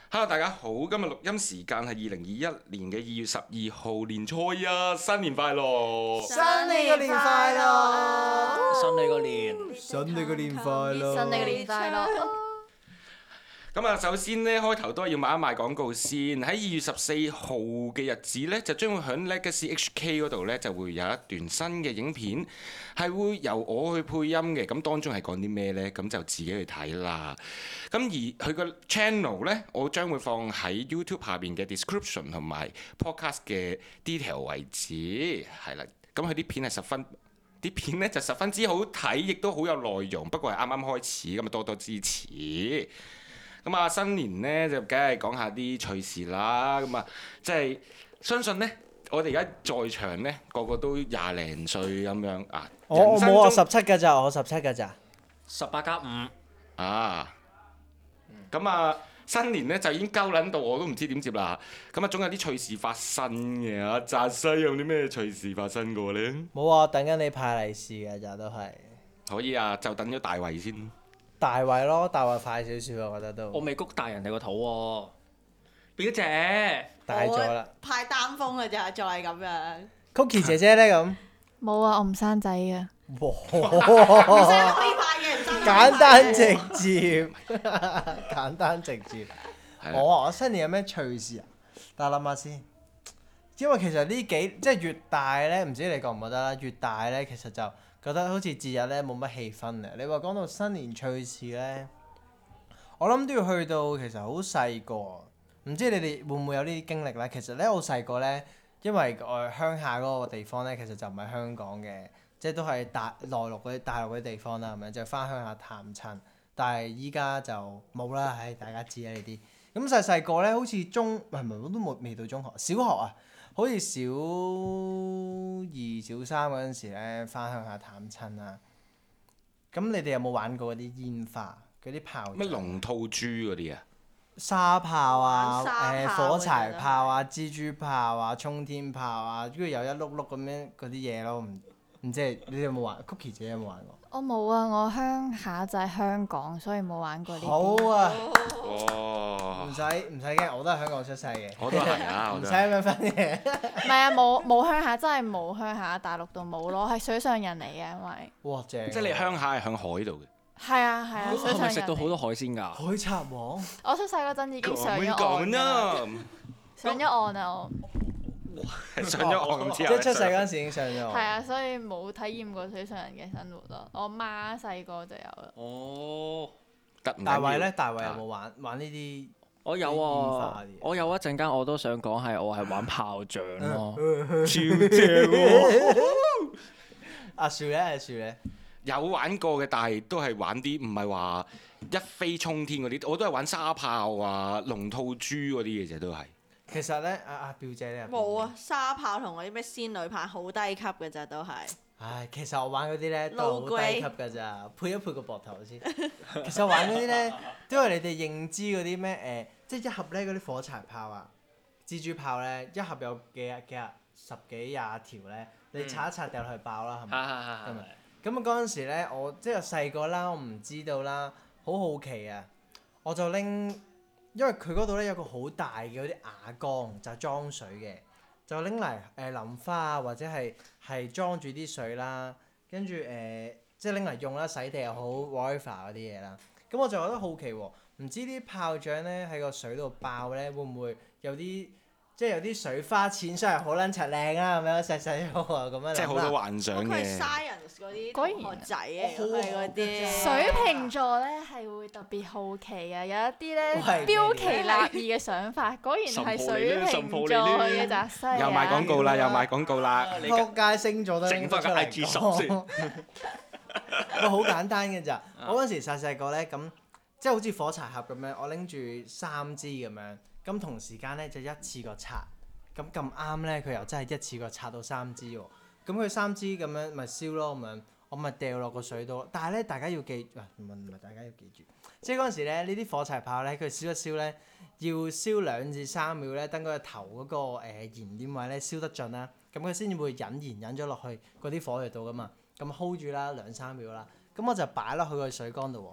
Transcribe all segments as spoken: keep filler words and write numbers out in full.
Hello，大家好，今日錄音時間係二零二一年嘅二月十二號，年初一，新年快樂！ 新你個年快樂！ 新你個年， 新你個年快樂！ 新你個年快樂！ 咁啊，首先呢，開頭都係要賣一賣廣告先。喺二月十四號嘅日子呢，就將會喺 Legacy H K 嗰度呢，就會有一段新嘅影片，係會由我去配音嘅。咁當中係講啲咩呢？咁就自己去睇啦。咁而佢個 channel 呢，我將會放喺 YouTube 下邊嘅 description 同埋 podcast 嘅 detail 位置，係啦。咁佢啲片係十分啲片呢就十分之好睇，亦都好有內容。不過係啱啱開始，咁啊多多支持。咁啊，新年咧就梗係講下啲趣事啦。咁啊，即係相信咧，我哋而家在場咧個個都廿零歲咁樣啊。 我我冇我十七㗎咋，我十七㗎咋。 十八加五啊。咁啊，新年咧就已經鳩撚到，我都唔知點接啦。咁啊，總有啲趣事發生嘅。阿澤西有啲咩趣事發生過咧？ 冇啊，等緊你派利是㗎咋都係。 可以啊，就等咗大圍先。 大圍咯，大圍快少少啊，我覺得都。 我未谷大人哋個肚喎，表姐大咗啦。 派單封㗎咋，再係咁樣。 Cookie 姐姐咧咁。 冇啊，我唔生仔嘅。 哇！ 唔使可以派嘅，唔生簡單直接，簡單直接。 係我啊，我新年有咩趣事啊？等我諗下先。因為其實呢幾即係越大咧，唔知你覺唔覺得啦？越大咧，其實就覺得好似節日咧冇乜氣氛嘅。你話講到新年趣事咧，我諗都要去到其實好細個，唔知你哋會唔會有呢啲經歷咧？其實咧，我細個咧，因為我鄉下嗰個地方咧，其實就唔係香港嘅，即係都係大內陸嗰啲大陸嗰啲地方啦，係咪？就翻鄉下探親，但係依家就冇啦，唉，大家知啦呢啲。咁細細個咧，好似中唔係唔係我都冇未到中學，小學啊。好似小二、小三嗰陣時咧，翻鄉下探親啊。咁你哋有冇玩過嗰啲煙花、嗰啲炮仗？ 乜龍吐珠嗰啲啊？ 沙炮啊，誒、 炮火柴炮啊、蜘蛛炮啊、衝天炮啊，跟住有一碌碌咁樣嗰啲嘢咯，唔唔知你哋有冇玩 ？Cookie 姐有冇玩過？ 我冇啊，我鄉下就係香港，所以冇玩過呢啲。 好啊， 哇！ 唔使唔使驚，我都係香港出世嘅。 我都係啊，我唔都係。 使咁樣分嘅。 唔係啊，冇冇鄉下，真係冇鄉下，大陸度冇咯，係水上人嚟嘅，因為。 哇！正。 即係你鄉下係響海度嘅。 係啊係啊，水係上人嚟。 咪食到好多海鮮㗎？ 海賊王。 我出世嗰陣已經上咗講岸啦， 啊！ 上咗岸啊我。 上咗岸之後， 即係出世嗰陣時已經上咗岸。 係啊，所以冇體驗過水上人嘅生活咯。我媽細個就有啦。 哦， 得唔緊要大衛咧，大衛有冇玩玩呢啲？ 我有煙啊花啲嘢， 我有一陣間我都想講係我係玩炮仗咯， 超正喎！ 阿樹咧，阿樹咧， 有玩過嘅，但係都係玩啲唔係話一飛沖天嗰啲，我都係玩沙炮啊、龍吐珠嗰啲嘅啫，都係。 其實咧，阿阿表姐咧冇啊，沙炮同嗰啲咩仙女棒好低級嘅咋都係。 唉，其實我玩嗰啲咧都好 Low grade 低級㗎咋，配一配個膊頭先。其實我玩嗰啲咧，都係你哋認知嗰啲咩誒，即係一盒咧嗰啲火柴炮啊、蜘蛛炮咧，一盒有幾廿幾廿十幾廿條咧，你拆一拆掉落去爆啦，係咪？ 係係係咁啊，咁啊嗰陣時咧，我即係細個啦，我唔知道啦，好好奇啊，我就拎，因為佢嗰度咧有個好大嘅嗰啲瓦缸，就裝水嘅，就拎嚟誒淋花啊，或者係係裝住啲水啦，跟住誒即係拎嚟用啦，洗地又好 whatever 嗰啲嘢啦。咁我就覺得好奇喎，唔知啲炮仗咧喺個水度爆咧，會唔會有啲即係有啲水花濺出嚟好撚柒靚啊咁樣細細個啊咁樣諗啦。 即係好多幻想佢係嘅。 science 嗰啲果然同學仔嚟嘅，佢嗰啲。 水瓶座咧係會特別好奇啊，有一啲咧喂標奇立異嘅想法，果然係水瓶座嘅澤西啊！ 又賣廣告啦，又賣廣告啦。 你撲街星座都拎整翻個得出嚟 I G 十講先。 喂，好簡單嘅咋，我嗰陣時細細個咧，咁即係好似火柴盒咁樣，我拎住三支咁樣，咁同時間咧就一次過拆，咁咁啱咧佢又真係一次過拆到三支喎，咁佢三支咁樣咪燒咯咁樣，我咪掉落個水度，但係咧大家要記，唔係唔係大家要記住，即係嗰陣時咧呢啲火柴炮咧佢燒一燒咧，要燒兩至三秒咧，等佢個頭嗰個誒燃點位咧燒得盡啦，咁佢先至會引燃引咗落去嗰啲火藥度噶嘛。咁 hold 住啦，兩三秒啦，咁我就擺落去個水缸度喎。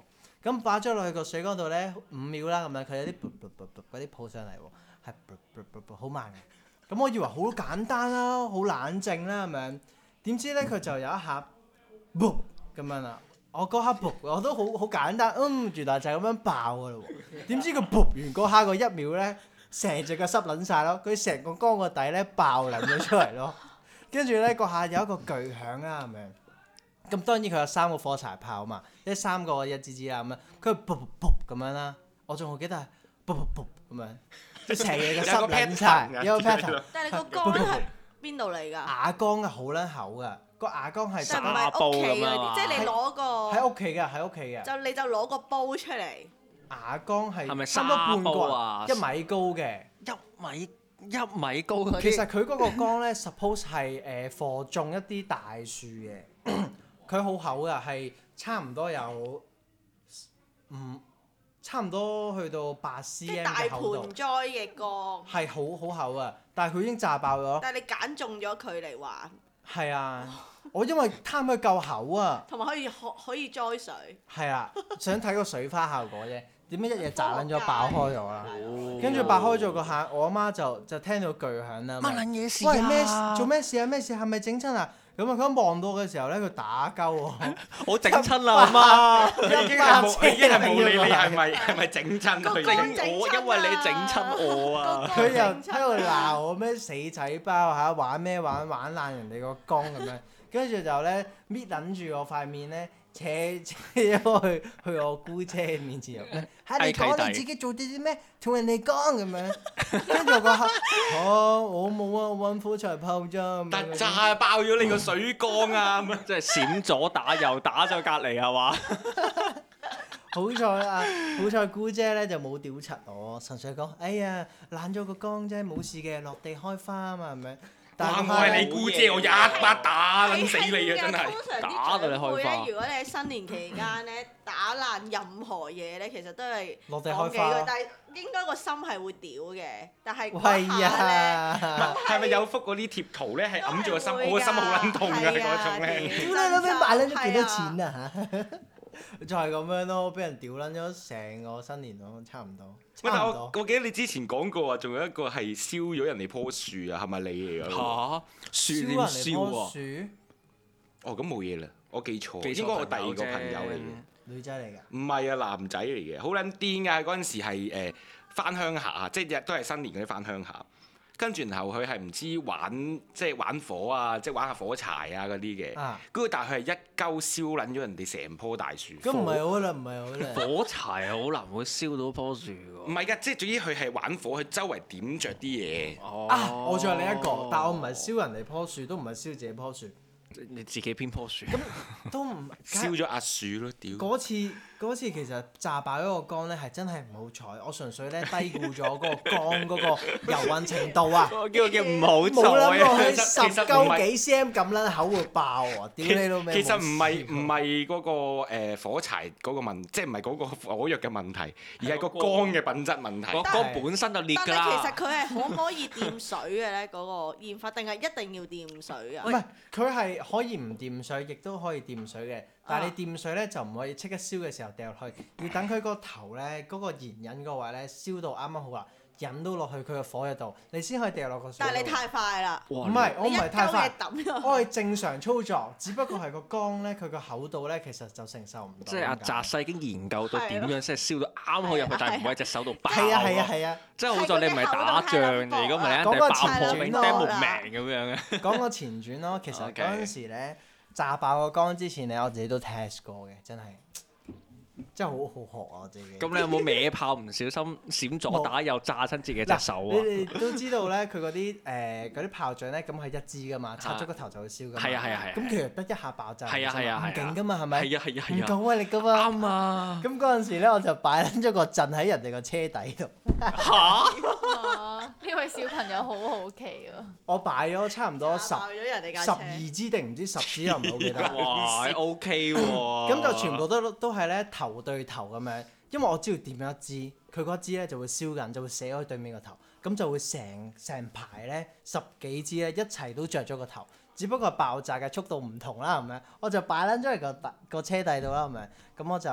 咁擺咗落去個水缸度咧五秒啦，咁樣佢有啲噗噗噗噗嗰啲泡上嚟喎，係噗噗噗噗好慢嘅。咁我以為好簡單啦，好冷靜啦咁樣，點知咧佢就有一下噗咁樣啦。我嗰刻噗我都好好簡單，嗯，原來就係咁樣爆噶咯喎。點知佢噗完嗰刻個一秒咧，成隻腳濕撚晒咯，佢成個缸個底咧爆撚咗出嚟咯。跟住咧嗰下有一個巨響啦咁樣。咁當然佢有三個火柴炮嘛，即係三個一支支啦咁樣，佢噗噗噗咁樣啦，我仲好記得係噗噗噗咁樣，即係成嘢嘅濕撚晒，有個 pattern。 但係你個缸咧係邊度嚟㗎？ 瓦缸嘅好撚厚㗎，個瓦缸係就唔係屋企嗰啲，即係你攞個喺屋企嘅，喺屋企嘅。 就你就攞個煲出嚟。 瓦缸係係咪差唔多半沙煲個啊一米高嘅。 一米一米高嗰啲。 其實佢嗰個缸咧，suppose 係誒貨種一啲大樹嘅。佢好厚㗎，係差唔多有唔差唔多去到八 cm 即係大嘅厚度盆，栽嘅缸。 係好好厚啊！但係佢已經炸爆咗。 但係你揀中咗佢嚟玩， 係啊，我因為貪佢夠厚啊， 同埋可以可可以栽水。 係啊，想睇個水花效果啫。點解一嘢炸撚咗爆開咗啦？ 哦跟住爆開咗個下，我阿媽就就聽到巨響啦。 乜撚嘢事喂，咩啊？ 做咩事啊？咩事？係咪整親啊？咁啊！佢一望到嘅時候咧，佢打鳩我， 我整親啦，阿媽。 已經係冇，已經係冇理你係咪係咪整親佢整整。 我因為你整親我啊！ 佢又喺度鬧我咩死仔包嚇，玩咩玩玩爛人哋個缸咁樣，跟住就咧搣撚住我塊面咧，扯扯咗去去我姑姐面前入咧，嚇你講你自己做啲啲咩，同人哋講咁樣，跟住我嗰刻，嚇我冇啊，我揾火柴炮啫。 但炸爆咗你個水缸啊！咁樣即係閃左打右打咗隔離係嘛？ 好彩啊！好彩姑姐咧就冇屌柒我，純粹講：哎呀爛咗個缸啫，冇事嘅，落地開花啊嘛，係咪？但哇！ 係我係你姑姐，我一巴打撚死你啊！真係。 通常打到你開花啲長輩咧，如果你喺新年期間咧打爛任何嘢咧，其實都係落地講幾句開花， 但係應該個心係會屌嘅，但係嗰喂下咧。 呀！ 係咪有幅嗰啲貼圖咧？係揞住個心， 都係會㗎我個心好撚痛㗎係啊嗰種咧。 屌你老味買撚咗幾多錢啊嚇！就係咁樣咯，俾人屌撚咗成個新年咯，差唔多。 喂，但我差唔多。 我記得你之前講過啊，仲有一個係燒咗人哋棵樹啊，係咪你嚟㗎？ 嚇！樹燒點人哋棵燒喎？ 樹， 哦，咁冇嘢啦，我記錯， 記錯應該我第二個朋友啫朋友嚟嘅。 女仔嚟㗎。 唔係啊，男仔嚟嘅，好撚癲㗎！嗰陣時係誒翻鄉下，即係日都係新年嗰啲翻鄉下。跟住然後佢係唔知玩即係玩火啊，即係玩下火柴啊嗰啲嘅。 啊！ 跟住但係佢係一鳩燒撚咗人哋成棵大樹。 咁唔係好啦，唔係好啦。 火柴好難會燒到棵樹喎。 唔係㗎，即係總之佢係玩火，佢周圍點着啲嘢。 哦啊！我仲有另一個，但我唔係燒人哋棵樹，都唔係燒自己棵樹， 你自己編棵樹。 都唔燒咗阿樹咯，屌！ 嗰次嗰次其實炸爆嗰個缸咧係真係唔好彩，我純粹咧低估咗嗰個缸嗰個油運程度啊！ 我叫叫唔好冇諗過佢其實十其實唔係鳩幾 cm 咁撚口會爆啊！屌你老味！ 其實唔係冇試過唔係嗰個誒火柴嗰個問，即係唔係嗰個火藥嘅問題，而係個缸嘅品質問題。 個缸本身就裂㗎但係其實啦。 佢係可唔可以掂水嘅咧？嗰個煙花定係一定要掂水啊？ 唔係，佢係可以唔掂水，亦都可以掂水嘅。但係你掂水咧就唔可以即刻燒嘅時候掉落去，要等佢個頭咧嗰個燃引嗰位咧燒到啱啱好啦，引到落去佢個火藥度，你先可以掉落個水度。 但係你太快啦！ 唔係，我唔係太快， 你一鳩嘢抌我係正常操作，只不過係個缸咧佢個厚度咧其實就承受唔到。 即係阿澤世已經研究到點樣先係燒到啱好入去，但係唔會喺隻手度爆。 係啊係啊係啊！ 即係好在你唔係打仗，如果唔係你一定爆破俾釘冇命咁樣嘅。 講個前傳咯，其實 OK 嗰陣時咧炸爆個缸之前咧，我自己都 test 過嘅，真係真係好好學啊！我自己。 咁你有冇歪炮唔小心閃左打右炸親自己隻手你啊？ 哋都知道咧，佢嗰啲誒嗰啲炮仗咧，咁係一支噶嘛，插咗個頭就會燒噶嘛。 係啊係啊係啊。 咁其實得一下爆炸， 係啊係啊係啊唔勁噶嘛，係咪？ 係啊係啊係啊。 唔夠威力噶嘛。 啱啊！ 咁嗰陣時咧，我就擺撚咗個陣喺人哋個車底度。 嚇！ 啊呢位小朋友好好奇啊！ 我擺咗差唔多十炸爆咗人哋架十車二支定唔知十支又唔係好記得。 哇！OK 喎。 咁就全部都都係咧頭對頭咁樣，因為我知道點樣一支，佢嗰支咧就會燒緊，就會射開對面個頭，咁就會成成排咧十幾支咧一齊都着咗個頭，只不過爆炸嘅速度唔同啦，係咪？我就擺撚咗嚟個個車底度啦，係咪？咁我就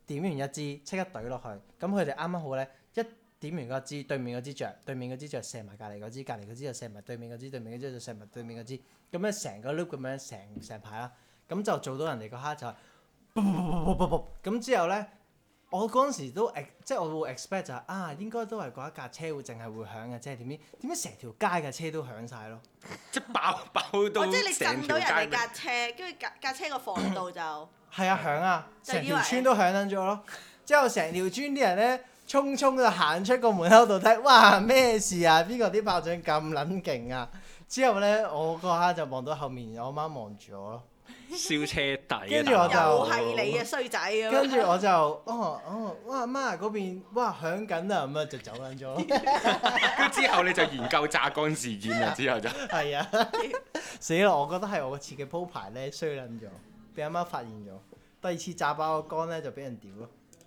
點完一支即刻懟落去，咁佢哋啱啱好咧一點完嗰支，對面嗰支着，對面嗰支着射埋隔離嗰支，隔離嗰支就射埋對面嗰支，對面嗰支就射埋對面嗰支，咁樣成個 loop 咁樣成成排啦，咁就做到人哋嗰刻就係啵啵啵啵啵啵，咁之後咧。我嗰陣時都 ex 即係我會 expect 就係、是、啊，應該都係嗰一架車會淨係會響嘅，即係點知點解成條街嘅車都響晒咯？ 即係爆爆到哦，即係你成條震到人哋街架車，跟住架架車個防盜就係啊，響啊，成就以為條村都響緊咗咯。之後成條村啲人咧，匆匆就行出個門口度睇，哇咩事啊？邊個啲炮仗咁撚勁啊？之後咧，我嗰刻就望到後面，我媽望住我咯。 燒車底， 跟住我就又係你嘅衰仔咁樣。 跟住我就哦哦，哇媽嗰邊哇響緊啊，咁啊就走撚咗咯。 跟住之後你就研究榨乾事件啦，之後就係啊，死啦！我覺得係我個設計鋪排咧衰撚咗，俾阿媽發現咗。第二次炸爆個缸咧就俾人屌咯。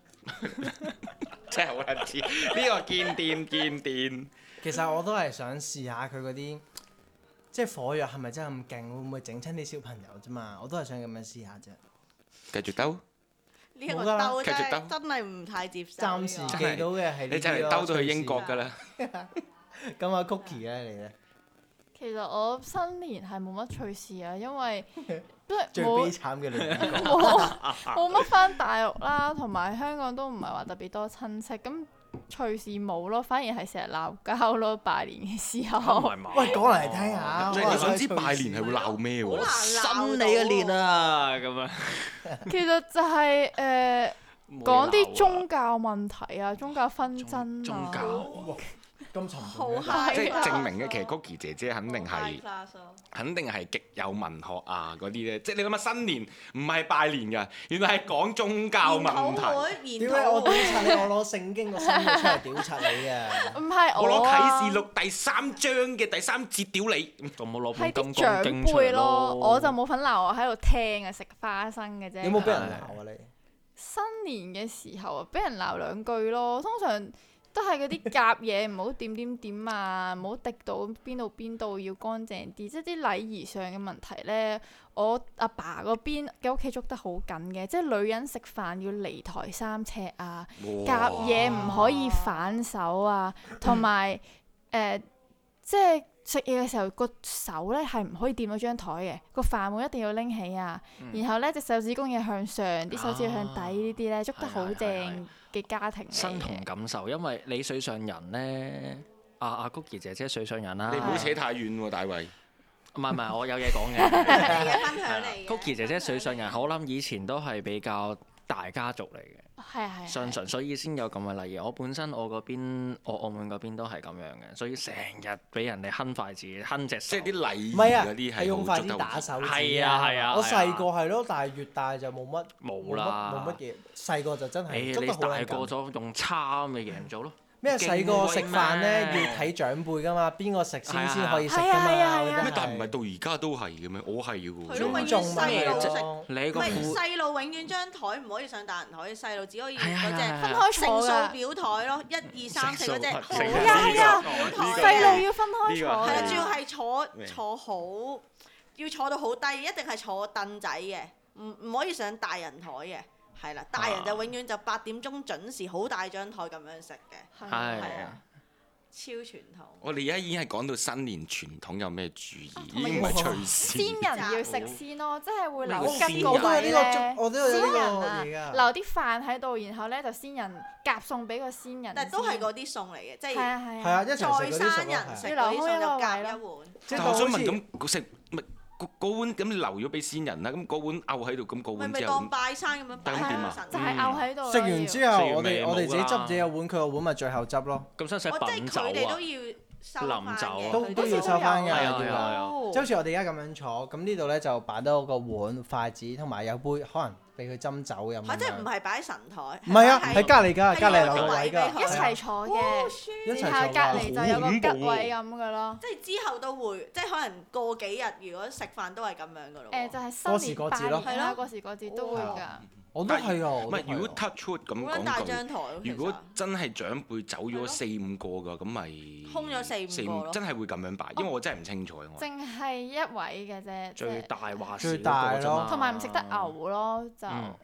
真係好撚似呢個堅癲堅癲。 其實我都係想試下佢嗰啲。即係火藥係咪真係咁勁？會唔會整親啲小朋友啫嘛？我都係想咁樣試下啫。 繼續兜。 呢一個兜真繼續兜係真係唔太接受。 暫時記到嘅係呢啲咯。 你就嚟兜到去英國㗎啦。 咁阿 Cookie 咧，你咧？ 其實我新年係冇乜趣事啊，因為即係最悲冇慘嘅女主角。 冇冇乜翻大陸啦，同埋香港都唔係話特別多親戚，咁趣事冇咯，反而係成日鬧交咯，拜年嘅時候。 喂，講嚟聽下。 即係你想知拜年係會鬧咩喎？ 好難鬧新你嘅年啊，咁樣。 其實就係誒講啲宗教問題啊，宗教紛爭啊。 宗教咁沉好重嘅。 嗨即係證明嘅，其實 Cookie 姐姐肯定係 high class 咯肯定係極有文學啊嗰啲咧。即係你諗下新年唔係拜年㗎，原來係講宗教問題。 研討會，研點解我屌討會。 柒你？我攞聖經個新嘅出嚟屌柒你嘅。 唔係我攞我啊啟示錄第三章嘅第三節屌你。 咁我攞係本金剛啲長經出嚟輩咯，我就咯。 冇份鬧，我喺度聽啊，食花生嘅啫。 有冇俾人鬧啊你？ 新年嘅時候啊，俾人鬧兩句咯。通常都係嗰啲夾嘢，唔好點點點啊，唔好滴到邊度邊度，要乾淨啲。即係啲禮儀上嘅問題咧，我阿爸嗰邊嘅屋企捉得好緊嘅，即係女人食飯要離台三尺啊，夾嘢唔可以反手啊，同埋誒即係食嘢嘅時候個手咧係唔可以掂到張台嘅，個飯碗一定要拎起啊，然後咧隻手指公要向上，啲手指要向底呢啲咧捉得好正嘅家庭嚟身同嘅。 感受，因為你水上人咧，阿阿 Cookie 姐姐水上人啦。 你唔好扯太遠喎，大衛。 唔係唔係，我有嘢講嘅。 你嘅分享嚟嘅。 Cookie 姐姐水上人，我諗以前都係比較大家族嚟嘅， 係係相信所以先有咁嘅例如。我本身我嗰邊，我澳門嗰邊都係咁樣嘅，所以成日俾人哋哼筷子、哼隻手。 即係啲禮儀唔係啊， 嗰啲係用筷子好捉得好打手指。 係啊係啊我係啊細個係咯，但係越大就冇乜冇啦冇乜嘢。細個就真係誒， 捉你大得好撚緊。 個咗用叉咪贏咗咯。 咩細個食飯咧勁威咩要睇長輩噶嘛，邊個食先係啊先可以食噶係啊係啊嘛？ 係啊咩？但係唔係到而家都係嘅咩？我係嘅喎。 係咯永遠仲咪細路食咯。 你個唔係褲細路永遠張台唔可以上大人台，細路只可以係啊嗰係啊隻分開乘數坐㗎。 表台咯，一二三四嗰隻好乘數係啊係啊表台細路嘅要分開坐係啦， 嘅主要係坐咩坐好，要坐到好低，一定係坐凳仔嘅，唔唔可以上大人台嘅。係啦，大人就永遠就八點鐘準時，好大張台咁樣食嘅， 係係啊啊，超傳統。 我哋而家已經係講到新年傳統有咩注意，已同埋經唔係趣事。 先人要食先咯，即係會留咩叫吉個我都有呢個位咧。 粥，我都有呢個先人啊， 嘢㗎。 留啲飯喺度，然後咧就先人夾餸俾個先人先。 但係都係嗰啲餸嚟嘅，即係係啊係係啊，一齊食在嗰啲生餸咯係人食嗰啲餸就夾一碗。 即係但係我想問好似咁食咪嗰嗰碗咁留咗俾先人啦，咁嗰碗漚喺度，咁嗰咪碗之後咪當拜山咁樣擺咁點啊喺神就係漚喺度咯。 食完之後， 食完我哋未我哋自己冇㗎執自己個碗，佢個碗咪最後執咯。 咁使唔使我即係品酒佢哋都啊？ 要收翻臨走啊嘅，佢哋都都要收返㗎係啊要係啊係啊即係好似我哋而家咁樣坐，咁呢度咧就擺多個碗、筷子同埋有杯，可能俾佢斟酒飲咁嚇，即係唔樣。 係擺喺神台？ 唔係啊， 係喺隔離㗎， 係隔離有個留個位㗎。 位俾佢一齊坐嘅， 一齊坐然後隔離就有個吉好恐怖喎位咁嘅咯。 即係之後都會，即係可能過幾日，如果食飯都係咁樣噶咯喎。 誒就係過時新年過節咯拜年啦，過時過節都會㗎。 我都係啊，我唔係， 都係啊如果 touch wood 咁好撚大講句， 張台喎，其實如果真係長輩走咗係咯四五個㗎，咁咪空咗四五個咯真係會咁樣擺，因為我真係唔清楚我。 淨係一位嘅啫，即最係大話事最大咯嗰個啫嘛同埋唔食得牛咯，就嗯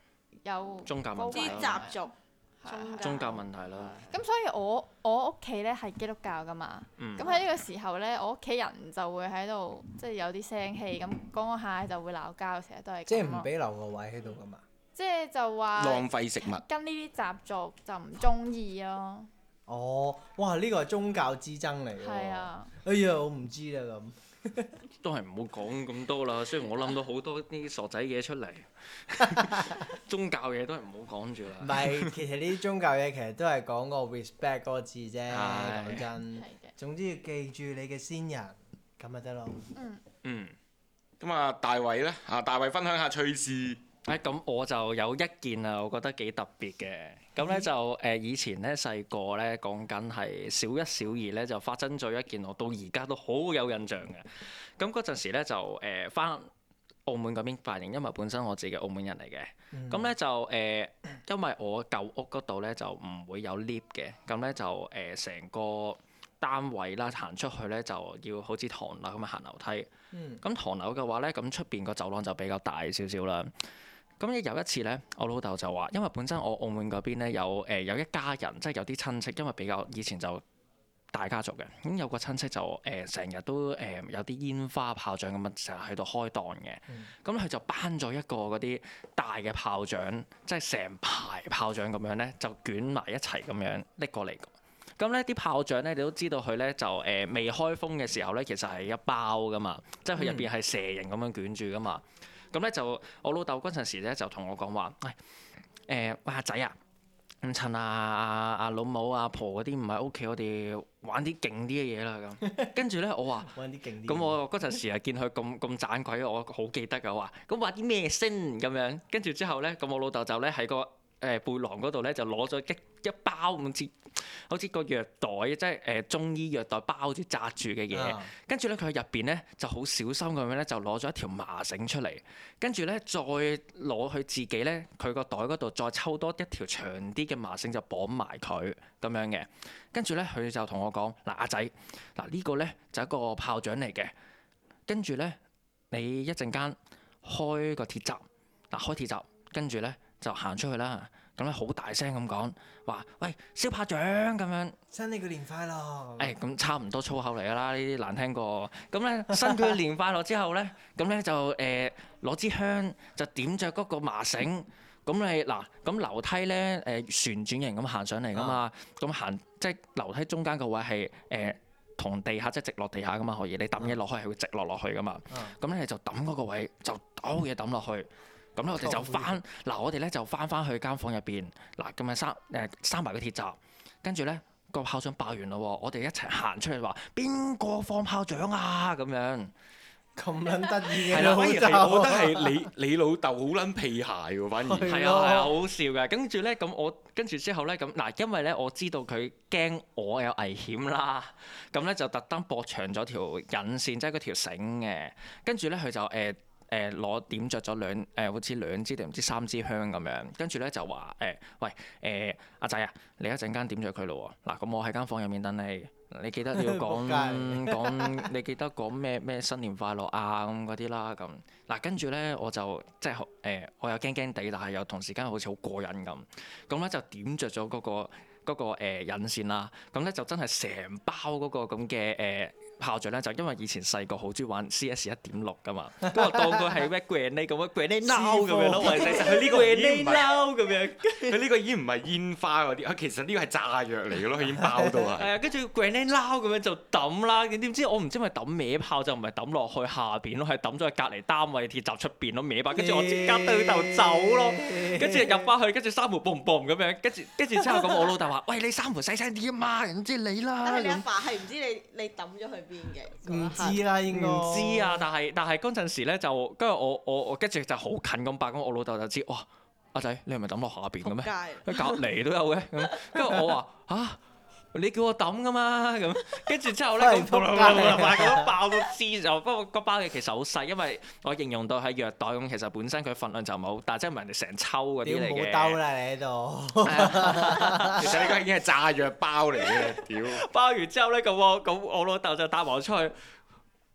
有宗教問題啲高危習俗、 係宗教問題啦。 咁所以我我屋企咧係基督教噶嘛， 嗯咁喺呢個時候咧，我屋企人就會喺度即係有啲聲氣，咁講下就會鬧交，成日都係即係咁咯。 唔俾留個位喺度噶嘛。 即係就話浪費食物。 跟呢啲習俗就唔中意咯。 哦，哇！呢個係宗教之爭嚟喎。 係啊。 哎呀，我唔知啦咁。 都係唔好講咁多啦。雖然我諗到好多啲傻仔嘢出嚟，宗教嘢都係唔好講住唔啦。 係，其實呢啲宗教嘢其實都係講個 respect 嗰個字啫。 係講真係，嘅。 總之要記住你嘅先人，咁咪得咯。 嗯。 嗯。 咁啊，大衛呢？啊，大衛分享下趣事。 誒咁、我就有一件啊，我覺得幾特別嘅。咁咧就誒、呃、以前咧細個咧講緊係小一小二咧就發生咗一件我到而家都好有印象嘅。咁嗰陣時咧就誒翻、澳門嗰邊髮型，因為本身我自己澳門人嚟嘅。咁咧、 嗯、 就誒、呃，因為我舊屋嗰度咧就唔會有 lift 嘅，咁咧就誒成、個單位啦行出去咧就要好似唐樓咁樣行樓梯。 嗯咁唐樓嘅話咧，咁出邊個走廊就比較大少少啦。咁有一次咧，我老豆就話，因為本身我澳門嗰邊咧有誒、呃、有一家人，即係有啲親戚，因為比較以前就大家族嘅，咁有個親戚就誒成日都誒、呃、有啲煙花炮仗咁樣成日喺度開檔嘅，咁佢、嗯、就搬咗一個嗰啲大嘅炮仗，即係成排炮仗咁樣咧，就捲埋一齊咁樣拎過嚟。咁咧啲炮仗咧，你都知道佢咧就誒、呃、未開封嘅時候咧，其實係一包噶嘛，即係佢入邊係蛇形咁樣捲住噶嘛。咁咧就我老豆嗰陣時咧就同我講話，誒、欸、誒喂阿仔啊，唔趁阿阿阿老母阿婆嗰啲唔喺屋企，我哋玩啲勁啲嘅嘢啦咁。跟住咧我話， 玩啲勁啲。 咁我嗰陣時啊見佢咁咁盞鬼，我好記得㗎，我話咁玩啲咩先咁樣。跟住之後咧，咁我老豆就咧喺個誒背囊嗰度咧就攞咗一一包咁似好似個藥袋，即係誒中醫藥袋包住紮住嘅嘢。跟住咧佢入邊咧就好小心咁樣咧就攞咗一條麻繩出嚟，跟住咧再攞佢自己咧佢個袋嗰度再抽多一條長啲嘅麻繩就綁埋佢咁樣嘅。跟住咧佢就同我講，嗱阿仔，嗱呢個咧就係一個炮仗嚟嘅，跟住咧你一陣間開個鐵閘，嗱開鐵閘，跟住咧就行出去啦。咁咧好大聲咁講話，喂燒炮仗咁樣， 新你個年快樂。 誒咁、哎、差唔多粗口嚟㗎啦，呢啲難聽過。咁咧新佢年快樂之後咧，咁咧就誒攞、呃、支香就點着嗰個麻繩。咁你嗱咁樓梯咧誒、呃、旋轉型咁行上嚟㗎嘛，咁行即係樓梯中間個位係誒同地下即係直落地下㗎嘛，可以你抌嘢落去係會直落落去㗎嘛。咁咧、嗯、你就抌嗰個位就倒嘢抌落去。咁咧我哋就翻嗱，我哋咧就翻翻去間房入邊嗱，咁啊閂誒閂埋個鐵閘，跟住咧個炮仗爆完咯，我哋一齊行出去話邊個放炮仗啊咁樣。 咁撚得意嘅係啦， 老反而係我覺得豆。 係你你老豆好撚屁鞋喎，反而係係啊係啊，好好笑嘅。跟住咧咁我跟住之後咧咁嗱，因為咧我知道佢驚我有危險啦，咁咧就特登駁長咗條引線，即係嗰條繩嘅。跟住咧佢就誒。呃誒攞、呃、點着咗兩誒、呃，好似兩支定唔知三支香咁樣，跟住咧就話誒、呃，喂誒阿仔啊，你一陣間點着佢咯喎，嗱咁我喺間房入面等你，你記得你要講講，你記得講咩咩新年快樂啊咁嗰啲啦咁，嗱跟住咧我就即係誒、呃，我又驚驚地，但係又同時間好似好過癮咁，咁咧就點着咗嗰個嗰、嗰個誒引線啦，咁咧就真係成包嗰個咁嘅誒。呃炮仗咧就因為以前細個好中意玩 C S 一點六噶嘛，咁我當佢係咩 grenade 咁樣 grenade now 咁樣咯，或者佢呢個已經唔係 now 咁樣， 佢呢個已經唔係煙花嗰啲，佢其實呢個係炸藥嚟嘅咯，佢已經爆到係。 係啊，跟住 grenade now 咁樣就抌啦，點知我唔知咪抌歪炮就唔係抌落去下邊咯，係抌咗去隔離單位鐵閘出邊咯歪把，跟住我即刻對頭走咯，跟住入翻去，跟住閂門 boom boom 咁樣，跟住跟住之後咁我老豆話：喂，你閂門細聲啲啊嘛，人知你啦。 但係你阿爸係唔知你你抌咗去邊嘅？ 唔知啦，應該唔知啊，但係但係嗰陣時咧就跟住我我我跟住就好近咁八，咁我老豆就知哇，阿仔你係咪抌落下邊嘅咩？佢隔離都有嘅咁，跟住我話嚇。你叫我抌噶嘛咁，跟住之後咧咁咁爆到黐就，不過個包嘢其實好細，因為我形容到係藥袋咁，其實本身佢份量就唔係好大，即係唔係人哋成抽嗰啲嚟嘅。 冇兜啦你喺度。 其實呢個已經係炸藥包嚟嘅，屌！ 包完之後咧咁我咁我老豆就帶埋我出去，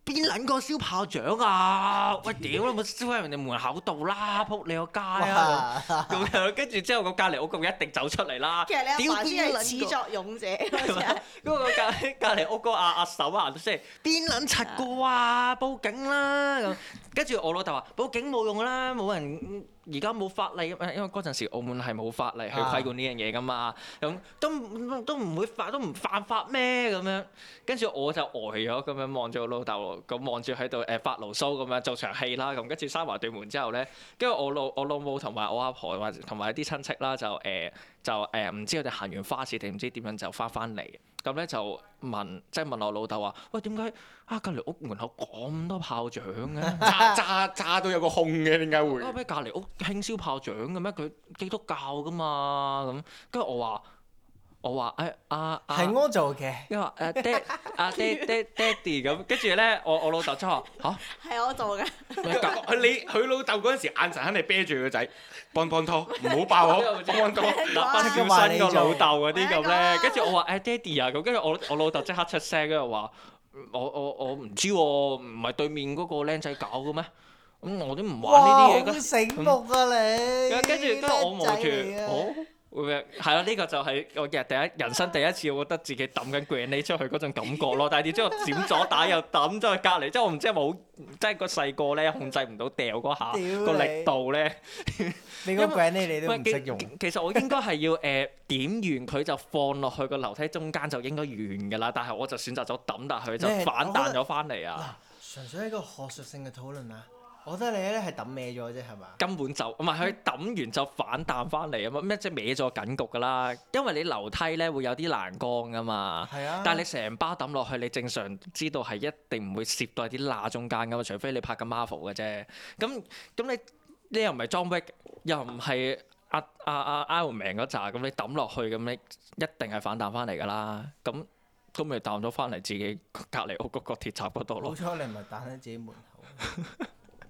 邊撚個燒炮仗啊？喂，屌你冇燒喺人哋門口度啦！撲你個街啊！咁樣跟住之後個隔離屋咁一定走出嚟啦。 其實你阿爸先係始屌邊撚個作俑者，好似係嗰個隔隔離屋個阿阿嬸啊，即係邊撚柒個啊？報警啦咁。跟住我老豆話：報警冇用啦，冇人而家冇法例，因為嗰陣時澳門係冇法例去規管呢樣嘢噶嘛。咁都都唔會犯都唔犯法咩咁樣？跟住我就呆咗咁樣望住我老豆，咁望住喺度誒發牢騷咁樣做場戲啦。咁跟住閂埋對門之後咧，跟住我老我老母同埋我阿婆或者同埋啲親戚啦，就誒、呃、就誒唔、呃、知佢哋行完花市定唔知點樣就翻翻嚟。咁咧就問，即係問我老豆話：喂，點解啊隔離屋門口咁多炮仗嘅？ 炸炸炸到有個空嘅，點解會？ 啊！咩隔離屋興燒炮仗嘅咩？佢基督教噶嘛咁。跟住我話：我話誒阿阿係我做嘅。 因為誒爹阿爹爹爹哋咁，跟住咧我我老豆即係話嚇。 係我做嘅。 佢你佢老豆嗰陣時眼神肯定啤住個仔，幫幫拖，唔好爆我，幫幫拖。 嗱，小新個老豆嗰啲咁咧，跟住我話誒爹哋啊咁，跟住我我老豆即刻出聲，跟住話我我我唔知喎，唔係對面嗰個僆仔搞嘅咩？咁我都唔玩呢啲嘢哇！好醒目啊你。 跟住跟住我望住， 叻仔嚟啊哦，會唔會係啦？呢個就係我日第一人生第一次，我覺得自己抌緊 grenade 出去嗰種感覺咯。但係點知我閃咗打又抌咗去隔離，即係我唔知係咪好，即係個細個咧控制唔到掉嗰下屌個力度咧。 你個 grenade 你都喂唔識用。 其實我應該係要誒、呃、點完佢就放落去個樓梯中間就應該完㗎啦，但係我就選擇咗抌，但係佢就你係反彈咗翻嚟啊！ 嗱，純粹係一個學術性嘅討論啊！我覺得你咧係抌歪咗啫，係嘛？ 根本就唔係佢抌完就反彈翻嚟啊嘛，咩即係歪咗緊局㗎啦，因為你樓梯咧會有啲欄杆㗎嘛， 係啊。 但係你成包抌落去，你正常知道係一定唔會攝到喺啲罅中間㗎嘛，除非你拍緊 Marvel 嘅啫。咁咁你你又唔係 John Wick，又唔係阿阿阿 Iron Man 嗰扎，咁你抌落去咁你一定係反彈翻嚟㗎啦。咁咁咪彈咗翻嚟自己隔離屋嗰個鐵閘嗰度好咯。 彩你唔係彈喺自己門口。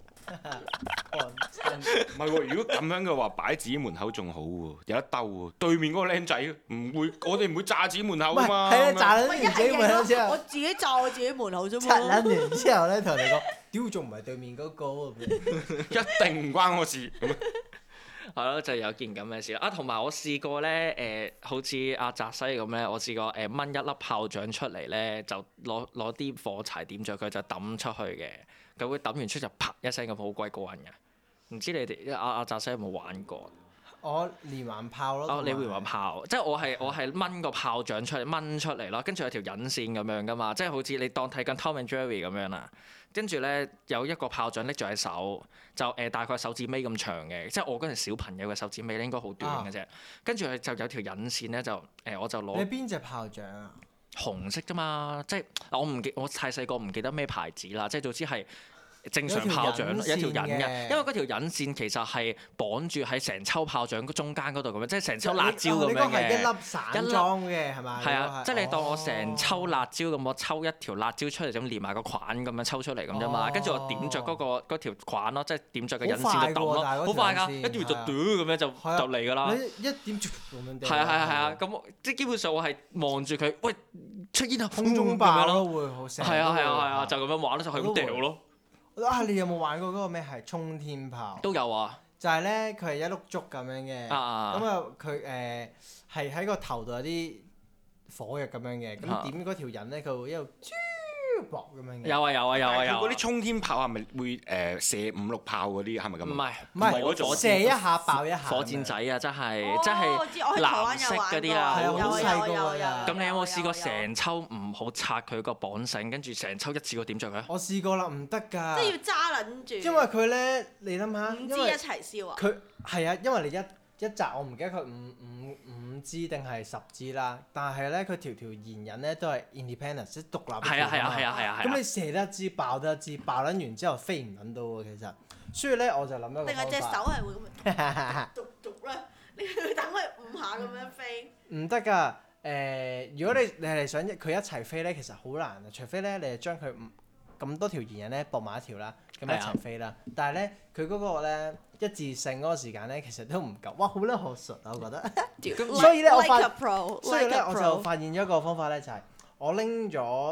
唔係喎，如果咁樣嘅話，擺自己門口仲好喎，有得兜喎。對面嗰個僆仔唔會，我哋唔會炸自己門口啊嘛。 係啊，炸咁樣撚完自己門口之我後， 自己炸我自己門口啫拆嘛。 撚完之後咧，同人哋講：屌，仲唔係對面嗰個咁樣？ 一定唔關我事。咁樣係咯，就有件咁嘅事啦。啊，同埋我試過咧，誒、呃，好似阿澤西咁咧，我試過誒掹、呃、一粒炮仗出嚟咧，就攞攞啲火柴點着佢，就抌出去嘅。咁佢抌完出就啪一聲咁，好鬼過癮嘅。唔知你哋阿阿澤西有冇玩過？ 我連環炮咯。 哦，你連環炮，即係我係我係掹個炮仗出嚟，掹出嚟咯，跟住有條引線咁樣噶嘛，即係好似你當睇緊 Tom and Jerry 咁樣啦。跟住咧有一個炮仗拎住喺手，就誒、呃、大概手指尾咁長嘅，即係我嗰陣小朋友嘅手指尾咧應該好短嘅啫。跟住佢就有條引線咧，就誒、呃、我就攞。 你邊隻炮仗啊？ 紅色啫嘛，即係我唔記，我太細個唔記得咩牌子啦，即係總之係。正常炮仗有一條引嘅，因為嗰條引線其實係綁住喺成抽炮仗中間嗰度咁樣，即係成抽辣椒咁樣嘅。 呢個係一粒散裝嘅係咪？ 係啊，即係你當我成抽辣椒咁， 哦、 我抽一條辣椒出嚟，咁連埋個框咁樣抽出嚟咁啫嘛。跟住、哦、我點着嗰、嗰個嗰條框咯，即係點着個引線就抌咯，好快㗎，跟住就嘟咁樣就就嚟㗎啦。 一點咁樣。 係啊係啊係啊，咁即係基本上我係望住佢，喂出煙啊， 空中爆咯會好聲。 係啊係啊係啊，就咁樣玩咯，就係咁掉咯。 啊！你有冇玩過嗰個咩係沖天炮？ 都有啊。 就係咧，佢係一碌竹咁樣嘅，咁啊佢誒係喺個頭度有啲火藥咁樣嘅，咁點嗰條引咧，佢會一路豬薄咁樣嘅。 有啊有啊有啊有。 嗰啲沖天炮係咪會誒射五六炮嗰啲係咪咁？ 唔係唔係嗰種射一下爆一下。 火箭仔啊，真係哦真係藍色嗰啲啊， 係啊，好細個㗎。 咁你有冇試過成抽唔好拆佢個綁繩，跟住成抽一次過點着佢？ 我試過啦，唔得㗎。 即係要揸撚住。 因為佢咧，你諗下， 五支一齊燒啊！ 佢係啊，因為你一一紮我唔記得佢五五五支定係十支啦，但係咧佢條條弦引咧都係 independent 即係獨立。係啊係啊係啊係啊！ 咁你射得一支爆得一支，爆撚完之後飛唔撚到喎，其實。所以咧我就諗一個方法。 定係隻手係會咁樣逐逐咧？你要等佢五下咁樣飛。 唔得㗎，誒！如果你你係想佢一齊飛咧，其實好難嘅，除非咧你係將佢咁多條弦引咧駁埋一條啦，咁一齊飛啦。但係咧佢嗰個咧一致性嗰個時間咧，其實都唔夠。哇！好撚學術啊，我覺得。所以咧我發，所以咧我就發現咗一個方法咧，就係我拎咗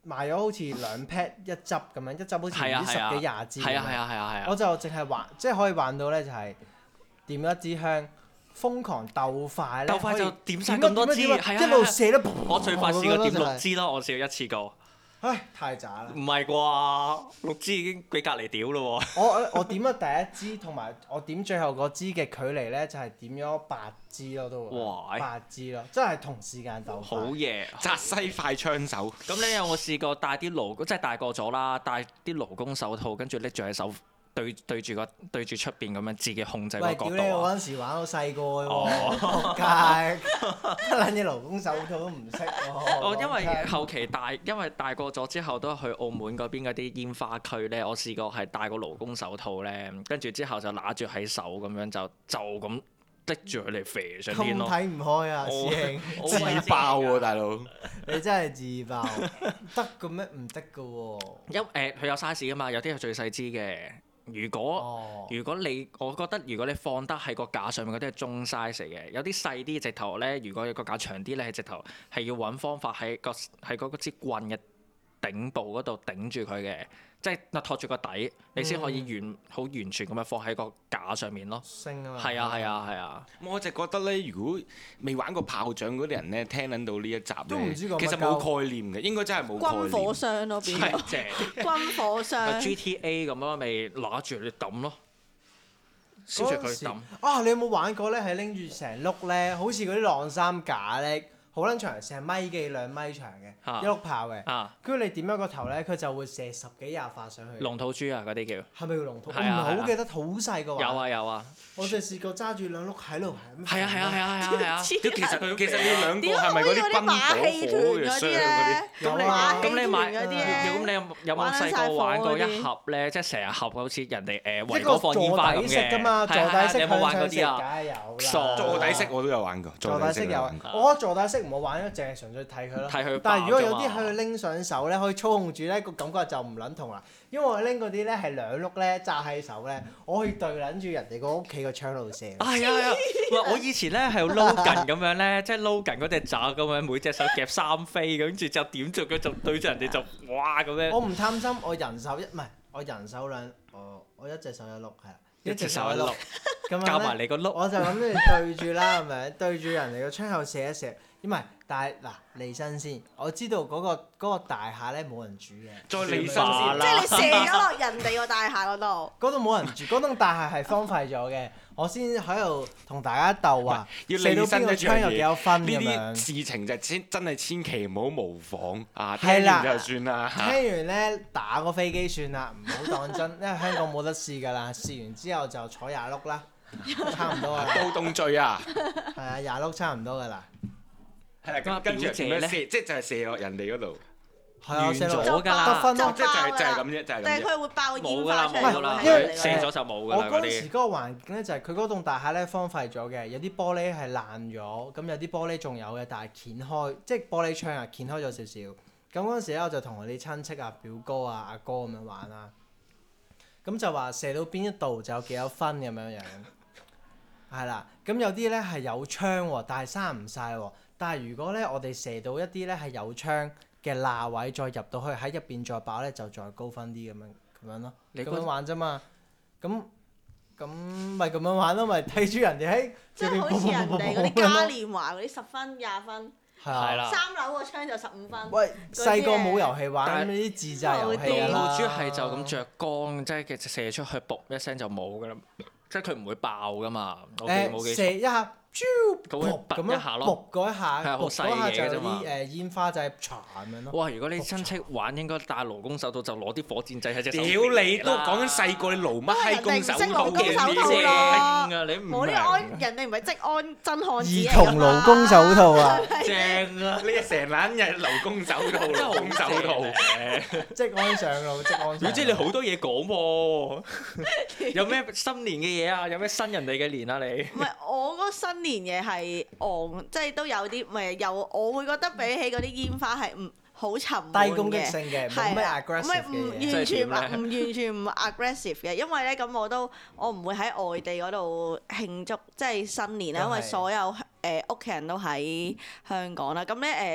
賣咗好似兩 pat 一執咁樣，一執好似唔知十幾廿支咁樣。 係啊係啊係啊係啊！ 我就淨係玩，即係可以玩到咧，就係點一支香，瘋狂鬥快咧， 鬥快就可以點晒咁多支， 點啊係啊！ 一路射得。 我最快試過點六支。 支咯，我試過一次過。 唉，太渣啦！ 唔係啩？六支已經俾隔離屌咯喎！ 我我我點咗第一支，同埋我點最後嗰支嘅距離咧，就係點咗八支咯都。 哇！ 八支咯，真係同時間鬥快。 好嘢！ 澤西快槍手。 咁你有冇試過戴啲勞即係大個咗啦，戴啲勞工手套，跟住拎住喺手對對住個對住出邊咁樣自己控制個喂， 角屌你！我度啊！ 嗰陣時玩到細個嘅喎，仆街，撚嘢勞工手套都唔識喎。 我因為後期大，因為大個咗之後都去澳門嗰邊嗰啲煙花區咧，我試過係戴個勞工手套咧，跟住之後就揦住喺手咁樣就就咁拎住佢嚟飛上天咯。 咁睇唔開啊， 我師兄！ 我自爆喎，大佬！ 你真係自爆，得嘅咩？唔得嘅喎。 因誒佢有 size 噶嘛，有啲係最細支嘅。如果、 哦如果你，我覺得如果你放得喺個架上面嗰啲係中 size 嚟嘅，有啲細啲直頭咧，如果個架長啲咧，係直頭係要揾方法喺個喺嗰支棍嘅頂部嗰度頂住佢嘅，即係托住個底，你先可以完好、完全咁樣放喺個架上面咯。 升啊嘛。 係啊係啊係啊！ 我就覺得咧，如果未玩過炮仗嗰啲人咧，聽撚到呢一集咧， 都唔知講乜其實冇概念嘅，應該真係冇概軍火念。 商咯變咗， 係正。 軍火商。 G T A 咁樣咪攞住你抌咯，燒住嗰陣時佢抌。 啊！你有冇玩過咧？係拎住成碌咧，好似嗰啲晾衫架咧，好撚長，成米幾兩米長嘅， 啊一碌炮嘅。 啊！ 跟住你點一個頭咧，佢就會射十幾廿發上去。 龍吐珠啊，嗰啲叫。 係咪叫龍吐？我唔係啊係啊係好記得，好細個玩。 有啊有啊。 我就試過揸住兩碌喺度係咁。 係啊係啊係啊係啊係啊！ 其實其實你兩個點解係咪嗰啲好似嗰啲軍馬戲團火火嘅嗰啲箱嗰啲？ 咧？ 有咁啊你咁你買嗰啲咧咁你有有冇玩細個晒火玩過一嗰啲盒咧？即係成日盒好似人哋誒維一個港放煙花咁座底式嘅。 㗎嘛，座係係底式係你有冇玩向上食，梗嗰啲啊？ 係有啦。 傻座底式我都有玩過， 座底式有都玩過。 我覺得座底式唔好玩，因為淨係純粹睇佢咯。 睇佢但係如果有爆啫嘛啲佢拎上手咧，可以操控住咧，個感覺就唔撚同啦。因為我拎嗰啲咧係兩碌咧揸喺手咧，我可以對撚住人哋個屋企個窗度射。 啊係啊係啊！喂，我以前咧係用 Logan 咁樣咧，即係 Logan 嗰隻爪咁樣，每隻手夾三飛，跟住就點著佢就對住人哋就哇咁樣。 我唔貪心，我人手一唔係我人手兩，我我一隻手一碌係啦， 一隻手一碌， 咁樣夾埋咧， 你個碌。 我就咁樣對住啦，係咪？對住人哋個窗口射一射，唔係，但係嗱離身先，我知道嗰個嗰個大廈咧冇人住嘅， 再離身先算吧啦即係你射咗落人哋個大廈嗰度。 嗰度冇人住，嗰棟大廈係荒廢咗嘅，我先喺度同大家鬥話， 要射到邊個離身一樣嘢。 窗有幾多分呢咁樣啲。事情就千真係千祈唔好模仿啊！ 係啦聽完就算啦。 聽完咧打個飛機算啦，唔好當真，因為香港冇得試㗎啦。試完之後就坐廿碌啦，差唔多㗎啦。 刀動罪啊！ 係啊，廿碌差唔多㗎啦。 係啦， 咁啊跟跟住表姐呢點樣射？即係就係射落人哋嗰度。 係啊， 完射落咗㗎啦得分咯。 哦即係就係就係咁啫，就係但係咁啫。 佢會爆冇㗎啦煙花出嚟冇㗎啦， 因為喎喺人哋射嗰度咗就冇㗎我啦嗰啲。 嗰陣時嗰個環境咧，就係佢嗰棟大廈咧荒廢咗嘅，有啲玻璃係爛咗，咁有啲玻璃仲有嘅，但係掀開，即係玻璃窗啊，掀開咗少少。咁嗰陣時咧，我就同我啲親戚啊、表哥啊、阿哥咁樣玩啦。咁就話射到邊一度就有幾多分咁樣樣。係啦，咁有啲咧係有窗喎，但係閂唔晒喎。但係如果咧我哋射到一啲咧係有窗嘅罅位，再入到去喺入邊再爆咧，就再高分啲咁樣咁樣咯。 你嗰咁樣玩啫嘛。咁咁咪咁樣玩咯，咪睇住人哋喺即係好似人哋嗰啲嘉年華嗰啲十分廿分， 係係啊。 啦三樓個窗就十五分。 喂，細個冇遊戲玩， 但係咁呢啲自製遊戲龍吐㗎啦。 珠係就咁着光，即係其實射出去，噗一聲就冇㗎啦，即係佢唔會爆㗎嘛。我記冇記誒射錯。 一下，啾佢會噗咁樣突一下咯噗嗰一下， 係啊好噗嗰下細嘢就有㗎啫嘛啲誒煙花就係唰咁樣咯。 哇！如果你親戚玩，應該戴勞工手套，就攞啲火箭仔喺隻手。 屌你都講緊細個，你勞乜閪工手套都係人哋唔識勞工手套正咯啊！你唔冇呢個明安，人哋唔係職安真漢子兒嚟㗎童勞工手套啊， 正啊！ 你係成撚日勞工手套， 真係好勞工手套。 職安上路，職安上路。 總之你好多嘢講喎，有咩新年嘅嘢啊？有咩新人哋嘅年啊？你唔係我嗰個新年嘢係昂，即係都有啲唔係有，我會覺得比起嗰啲煙花係唔好沉悶嘅。 低攻擊性嘅，冇咩係啊，唔 aggressive 係唔嘅嘢。 完全唔即係點咧唔完全唔 aggressive 嘅，因為咧咁我都我唔會喺外地嗰度慶祝即係新年啦，因為都係所有誒屋企人都喺香港啦。咁咧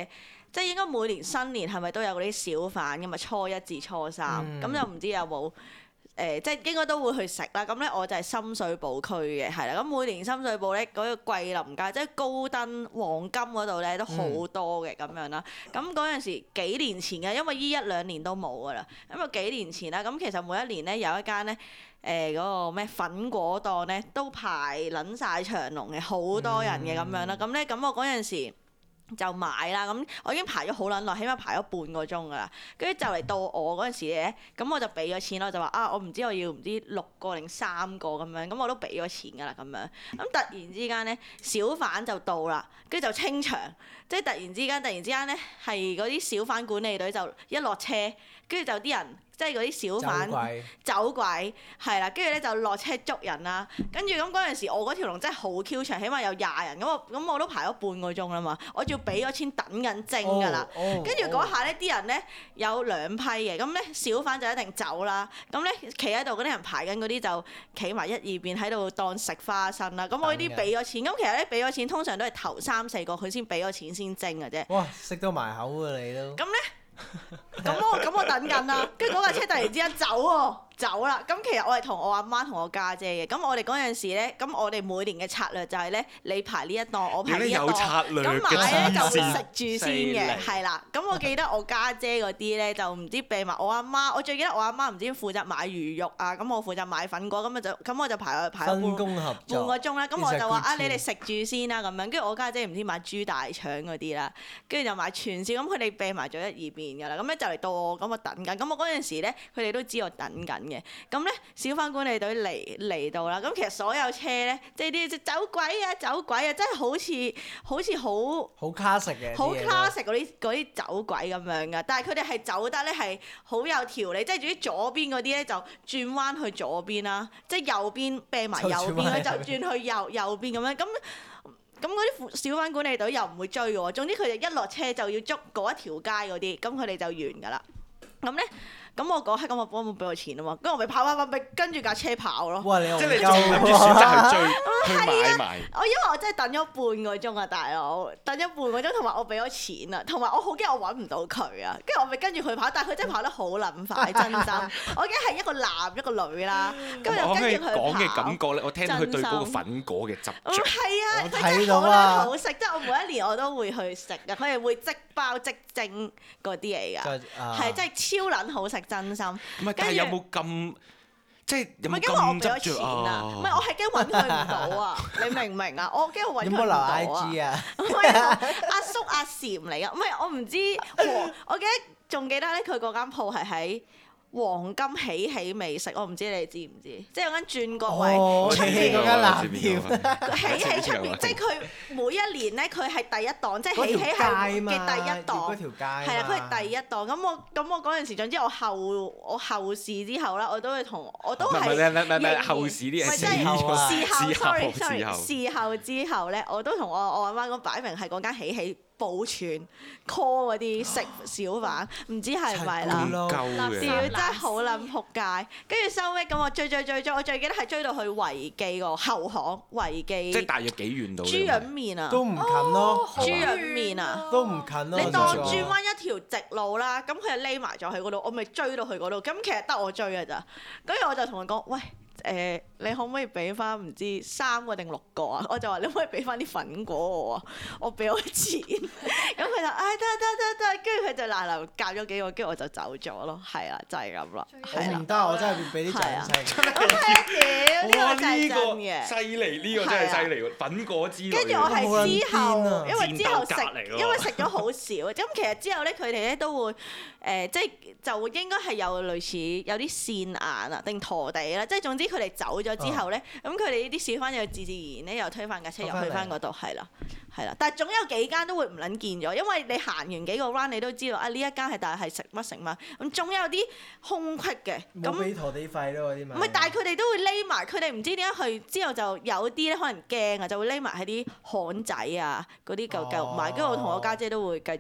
即係應該每年新年係咪都有嗰啲小販㗎嘛？初一至初三，咁就唔知有冇。誒、呃、即係應該都會去食啦，咁咧我就係深水埗區嘅，係啦，咁每年深水埗咧嗰、那個桂林街，即係高登黃金嗰度咧都好多嘅咁、嗯、樣啦。咁嗰陣時幾年前嘅，因為依一兩年都冇噶啦。咁啊幾年前啦，咁其實每一年咧有一間咧誒嗰個咩粉果檔咧都排撚晒長龍嘅，好多人嘅咁樣啦。咁咧咁我嗰陣時就買啦，咁我已經排咗好撚耐，起碼排咗半個鐘噶啦。跟住就嚟到我嗰陣時咧，咁我就俾咗錢咯，就話啊，我唔知我要唔知六個定三個咁樣，咁我都俾咗錢噶啦咁樣。咁突然之間咧，小販就到啦，跟住就清場，即係突然之間，突然之間咧係嗰啲小販管理隊就一落車，跟住就啲人。即係嗰啲小販走鬼，係啦，跟住咧就落車捉人啦。跟住咁嗰陣時，我嗰條龍真係好 Q 長，起碼有廿人。咁我咁我都排咗半個鐘啦嘛，我仲要俾咗錢等緊蒸㗎啦。跟住嗰下咧，啲人咧有兩批嘅，咁咧小販就一定走啦。咁咧企喺度嗰啲人排緊嗰啲就企埋一二邊喺度當食花生啦。咁我呢啲俾咗錢，咁其實咧俾咗錢通常都係頭三四個佢先俾咗錢先蒸嘅啫。 哇！食到埋口㗎你都。 咁咧？咁我咁我等緊啦，跟住嗰架車突然之間走喎，走啦。咁其實我係同我阿媽同我家姐嘅。咁我哋嗰陣時咧，咁我哋每年嘅策略就係咧，你排呢一檔，我排呢一檔。咁買咧就會食住先嘅，係啦。咁我記得我家姐嗰啲咧就唔知備埋我阿媽，我最記得我阿媽唔知負責買魚肉啊，咁我負責買粉果，咁啊就咁我就排排咗半半個鐘啦。咁我就話啊，你哋食住先啦咁樣。跟住我家姐唔知買豬大腸嗰啲啦，跟住就買串燒，咁佢哋備埋咗一二邊。㗎啦，咁咧就嚟到我，咁我等緊，咁我嗰陣時咧，佢哋都知我等緊嘅，咁咧小販管理隊嚟嚟到啦，咁其實所有車咧，即係啲走鬼啊走鬼啊，真係好似好似好好 classic 嘅， 好 classic 嗰啲嗰啲走鬼咁樣㗎，但係佢哋係走得咧係好有條理，即係總之左邊嗰啲咧就轉彎去左邊啦，即係右邊啤埋右邊咧就轉去右右邊咁樣咁。咁嗰啲小販管理隊又唔會追嘅喎，總之佢哋一落車就要捉嗰一條街嗰啲，咁佢哋就完㗎啦。咁咧，咁我嗰刻咁我幫冇俾我錢啊嘛，跟住我咪跑跑跑咪跟住架車跑咯。 哇！你即係你仲諗住選擇去追去買埋。 我因為我真係等咗半個鐘啊，大佬，等咗半個鐘，同埋我俾咗錢啊，同埋我好驚我揾唔到佢啊，跟住我咪跟住佢跑，但係佢真係跑得好撚快，真心。我驚係一個男一個女啦，跟住就跟住佢跑。 講嘅感覺咧，我聽到佢對嗰個粉果嘅執着。 嗯，係啊，佢真係好撚好食，即係我每一年我都會去食啊，佢係會即包即蒸嗰啲嚟㗎，係真係超撚好食，真心。 唔係，但係有冇咁即係有冇咁執着錢啊？唔係，我係驚揾佢唔到啊！你明唔明啊？我驚我揾佢唔到啊！ 有冇留 I G 啊？ 唔係阿叔阿禪嚟㗎，唔係我唔知。我記得仲記得咧，佢嗰間鋪係喺黃金喜喜美食，我唔知你知唔知？即係有間轉角位出邊嗰間藍店， 喜喜出邊，即係佢每一年咧，佢係第一檔，即係喜喜係嘅第一檔， 嗰條街係啊，佢係第一檔。咁我咁我嗰陣時，總之我後我後事之後啦，我都會同我都係唔係唔係唔係後事啲嘢， 事後事後 sorry sorry 事後之後咧，我都同我我阿媽講擺明係嗰間喜喜保存 call 嗰啲食小販，唔知係咪啦？屌真係好撚仆街，跟住收尾咁我追追追追，我最記得係追到去維記個後巷維記。 即係大約幾遠到？ 豬潤麵啊！ 都唔近咯， 豬潤麵啊！ 都唔近咯。 你當轉彎一條直路啦，咁佢就匿埋咗去嗰度，我咪追到去嗰度。咁其實得我追㗎咋，跟住我就同佢講：喂！誒、呃，你可唔可以俾翻唔知三個定六個啊？我就話你可唔可以俾翻啲粉果我啊？我俾我錢，咁佢就唉得得得得，跟住佢就嗱嗱夾咗幾個，跟住我就走咗咯。係啦，就係咁啦。係啦， 唔得，我真係要俾啲掌聲。 咁係屌，呢個真係真嘅。 犀利，呢個真係犀利喎！粉果之類。 跟住我係之後，因為之後食，因為食咗好少。咁其實之後咧，佢哋咧都會誒，即係就應該係有類似有啲線眼啊，定陀地啦，即係總之。佢哋走咗之後咧，咁佢哋呢啲小販又自自然然咧又推翻架車又去翻嗰度，係啦，係啦。但係總有幾間都會唔撚見咗，因為你行完幾個 round 你都知道啊呢一間係但係係食乜食乜，咁總有啲空隙嘅。 冇俾陀地費咯嗰啲咪。 唔係，但係佢哋都會匿埋，佢哋唔知點解去之後就有啲咧可能驚啊，就會匿埋喺啲巷仔啊嗰啲舊舊賣，跟住我同我家姐都會繼續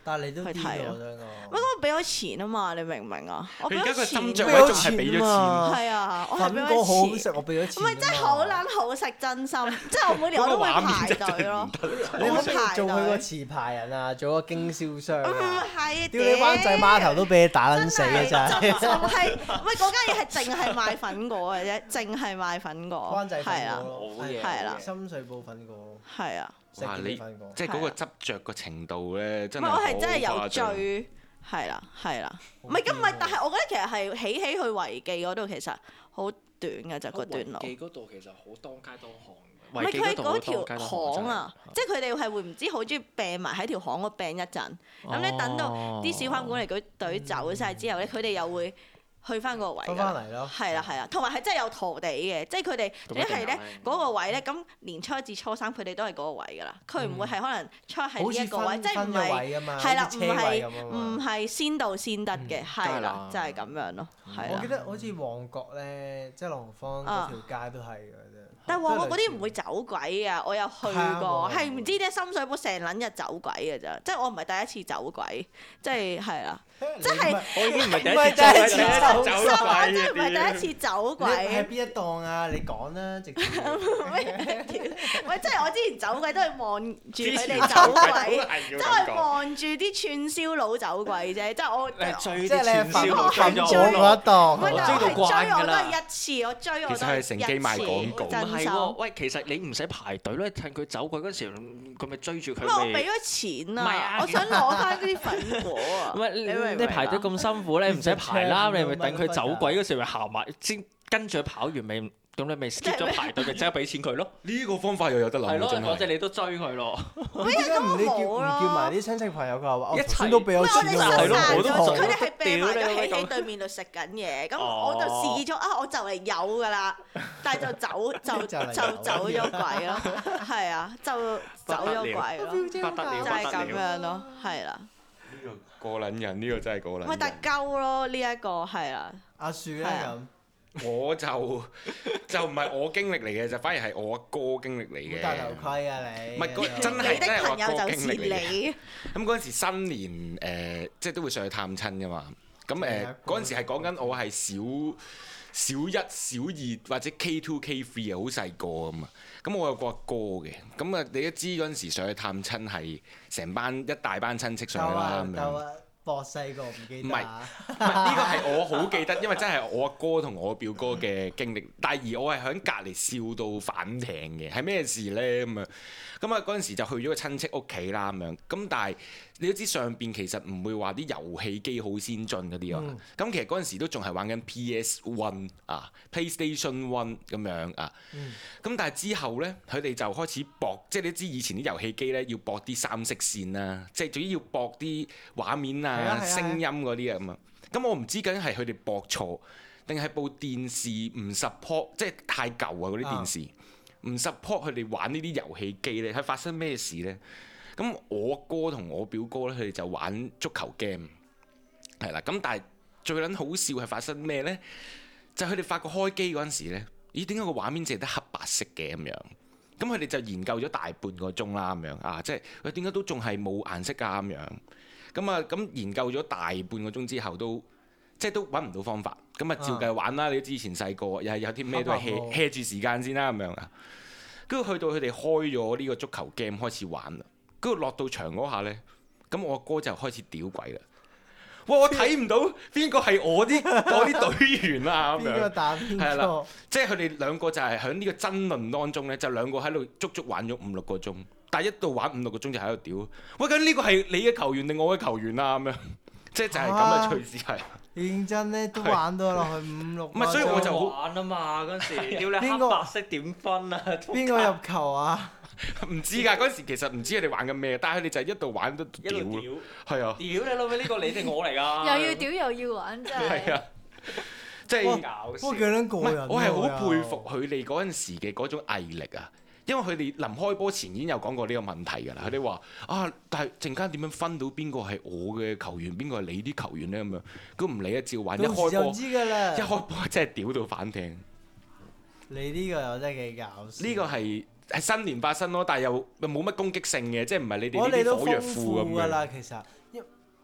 但係你都去睇咯啲我想講。 喂，我俾咗錢啊嘛，你明唔明啊？我俾佢而家個咗錢斟酌俾咗位仲係俾咗錢啊錢。 係啊，我係俾粉果好好咗錢。 食，我俾咗錢。 唔係真係好撚好食，真心。即係我每年我都會排隊咯。 你可唔可以我會排做佢個隊。 持牌人啊？做個經銷商唔啊？ 係， 屌你灣仔碼頭都俾你打撚死啊！真係。 就就係，唔係嗰間嘢係淨係賣粉果嘅啫，淨係賣粉果。 灣仔粉係啊， 果咯， 好嘢係啦深水埗粉果， 係啊。 哇！ 石你硤尾粉果。 即係嗰個執着個程度咧， 唔真係係我係真係好有誇張。 追，係啦係啦。唔係咁唔係，但係我覺得其實係起起去維記嗰度其實好短嘅就個段路。 記嗰度其實好當街當巷嘅。 唔係佢嗰維記嗰度好條當街當巷啊， 真係即係佢哋係會唔知好中意病埋喺條巷嗰病一陣，咁咧等到啲小販管理隊隊走晒之後咧，佢哋又會去翻個位㗎翻返嚟咯係啦係啦，同埋係真係有陀地嘅，即係佢哋咁一定一係咧有嗰個位咧，咁年初一至初三佢哋都係嗰個位㗎啦，佢唔會係可能出喺好似呢一個位， 分分即係唔係咗位㗎嘛， 係啦， 好似唔車位係咁啊唔嘛。 係先到先得嘅，係啦梗係啦， 就係咁樣咯，係啦我記。得好似旺角咧，即係朗豪坊嗰條街都係嘅啫。 但係旺角嗰啲唔會會走鬼啊！我有去係啊過， 旺角係唔知點解深水埗成撚日走鬼嘅咋，即係我唔係第一次走鬼，即係係啦， 即係我已經唔係第唔係一次走第一次走走收我鬼真係唔係第一次走你喺鬼。 邊一檔啊？你講啦，直接。 喂，即係我之前走鬼都係望住佢哋之前走鬼， 係要即係咁講望住啲串燒佬走鬼啫，即係我。 你係追即係你係啲串燒佬粉粉追咗咗嗰一檔。 唔係，但係我係追到慣追我都㗎啦係一次，我追我都其實係乘機賣廣告唔真心。 係喎，喂，其實你唔使排隊咧，趁佢走過嗰陣時，佢咪追住佢因為我俾咪。 咗錢唔係啊啊！我想攞翻嗰啲粉果啊！ 唔係你明唔明你排隊啊咁辛苦咧，唔使排啦， 你你咪等佢走鬼嗰時咪行埋，先跟住佢跑完咪，咁你咪 skip 咗排隊，咪即刻俾錢佢咯。 呢個方法又有得諗係咯， 喎真係。 嗰隻你都追佢咯。 點解唔你叫唔冇咯叫埋啲親戚朋友？佢話我一齊頭先都俾咗我錢㗎哋食係咯喎， 我都飯咗， 想佢哋係病埋咗屌你咁喺喺對面度食緊嘢，咁哦我就試咗啊，我就嚟有㗎啦，但係就走就就嚟有就走咗鬼咯，係啊，就走咗鬼咯， 不得了， 就係不咁得了。 樣咯，係啦， 呢個過撚人，呢個真係過撚人。 咪但係鳩咯呢一個係啦， 阿樹咧係啊咁。 我就就唔係我經歷嚟嘅，就反而係我阿哥經歷嚟嘅。 冇戴頭盔啊你！ 唔係嗰真你係真係我的朋友阿哥就是經歷嚟嘅。 你， 咁嗰陣時新年誒、呃，即係都會上去探親噶嘛。咁誒係啊嗰陣時係講緊我係小小一、小二或者 K two、K three 啊，好細個啊嘛。咁我有個阿哥嘅，咁啊你都知嗰陣時上去探親係成班一大班親戚上去啦咁樣。 鬥啊！博細個唔記唔係得啊！ 唔係呢個係我好記得，因為真係我阿哥同我表哥嘅經歷。但係而我係喺隔離笑到反艇嘅，係咩事咧咁啊？咁啊嗰陣時就去咗個親戚屋企啦咁樣。咁但係你都知上邊其實唔會話啲遊戲機好先進嗰啲啊。咁、 嗯其實嗰陣時都仲係玩緊 P S One 啊、PlayStation One 咁樣啊。咁、 嗯但係之後咧，佢哋就開始駁，即係你知以前啲遊戲機咧要駁啲三色線啦，即係總之要駁啲畫面啊、 係啊係啊聲音嗰啲啊咁啊。咁我唔知究竟係佢哋駁錯，定係部電視唔 support，即係太舊啊嗰啲電視唔 support 佢哋玩呢啲遊戲機咧，係發生咩事咧？咁我哥同我表哥咧，佢哋就玩足球 game，係啦。咁但係最撚好笑係發生咩咧？就係佢哋發覺開機嗰陣時咧，咦點解個畫面淨係得黑白色嘅咁樣？咁佢哋就研究咗大半個鐘啦咁樣啊，即係佢點解都仲係冇顏色㗎咁樣？咁啊咁研究咗大半個鐘之後都即係都揾唔到方法，咁啊照計玩啦。你都知以前細個又係有啲咩都係 hea hea 住時間先啦咁樣啊。跟住去到佢哋開咗呢個足球 game 開始玩啦，跟住落到場嗰下咧，咁我哥就開始屌鬼啦。哇！我睇唔到邊個係我啲我啲隊員啊咁邊個樣， 打邊係啦個？ 即係佢哋兩個就係喺呢個爭論當中咧，就兩個喺度足足玩咗五六個鐘，但係一到玩五六個鐘就喺度屌。喂，咁呢個係你嘅球員定我嘅球員啊？咁樣，即係就係咁嘅趣事係。 認真咧都玩到落去五六個鐘。 唔係所以我就好玩啊嘛嗰陣時，屌你邊個黑白色點分啊？ 邊個入球啊？ 唔知㗎，嗰陣時其實唔知佢哋玩緊咩，但係佢哋就係一度玩都一屌咯， 路屌， 係啊， 屌你老味呢個你定我嚟㗎？ 又要屌又要玩，真係。 係啊，即係哇搞笑不過幾撚唔過癮喎係我係好佩又服佢哋嗰陣時嘅嗰種毅力啊！因為佢哋臨開波前已經有講過呢個問題㗎啦。佢哋話啊，但係陣間點樣分到邊個係我嘅球員，邊個係你啲球員咧咁樣？咁唔理啊，照玩。一到時就開波知㗎啦。 一開波真係屌到反艇。 你呢個又真係幾搞笑。 呢個係係新年發生咯，但係又又冇乜攻擊性嘅，即係唔係你哋我哋都呢啲火藥豐富庫咁樣。 㗎啦，其實。因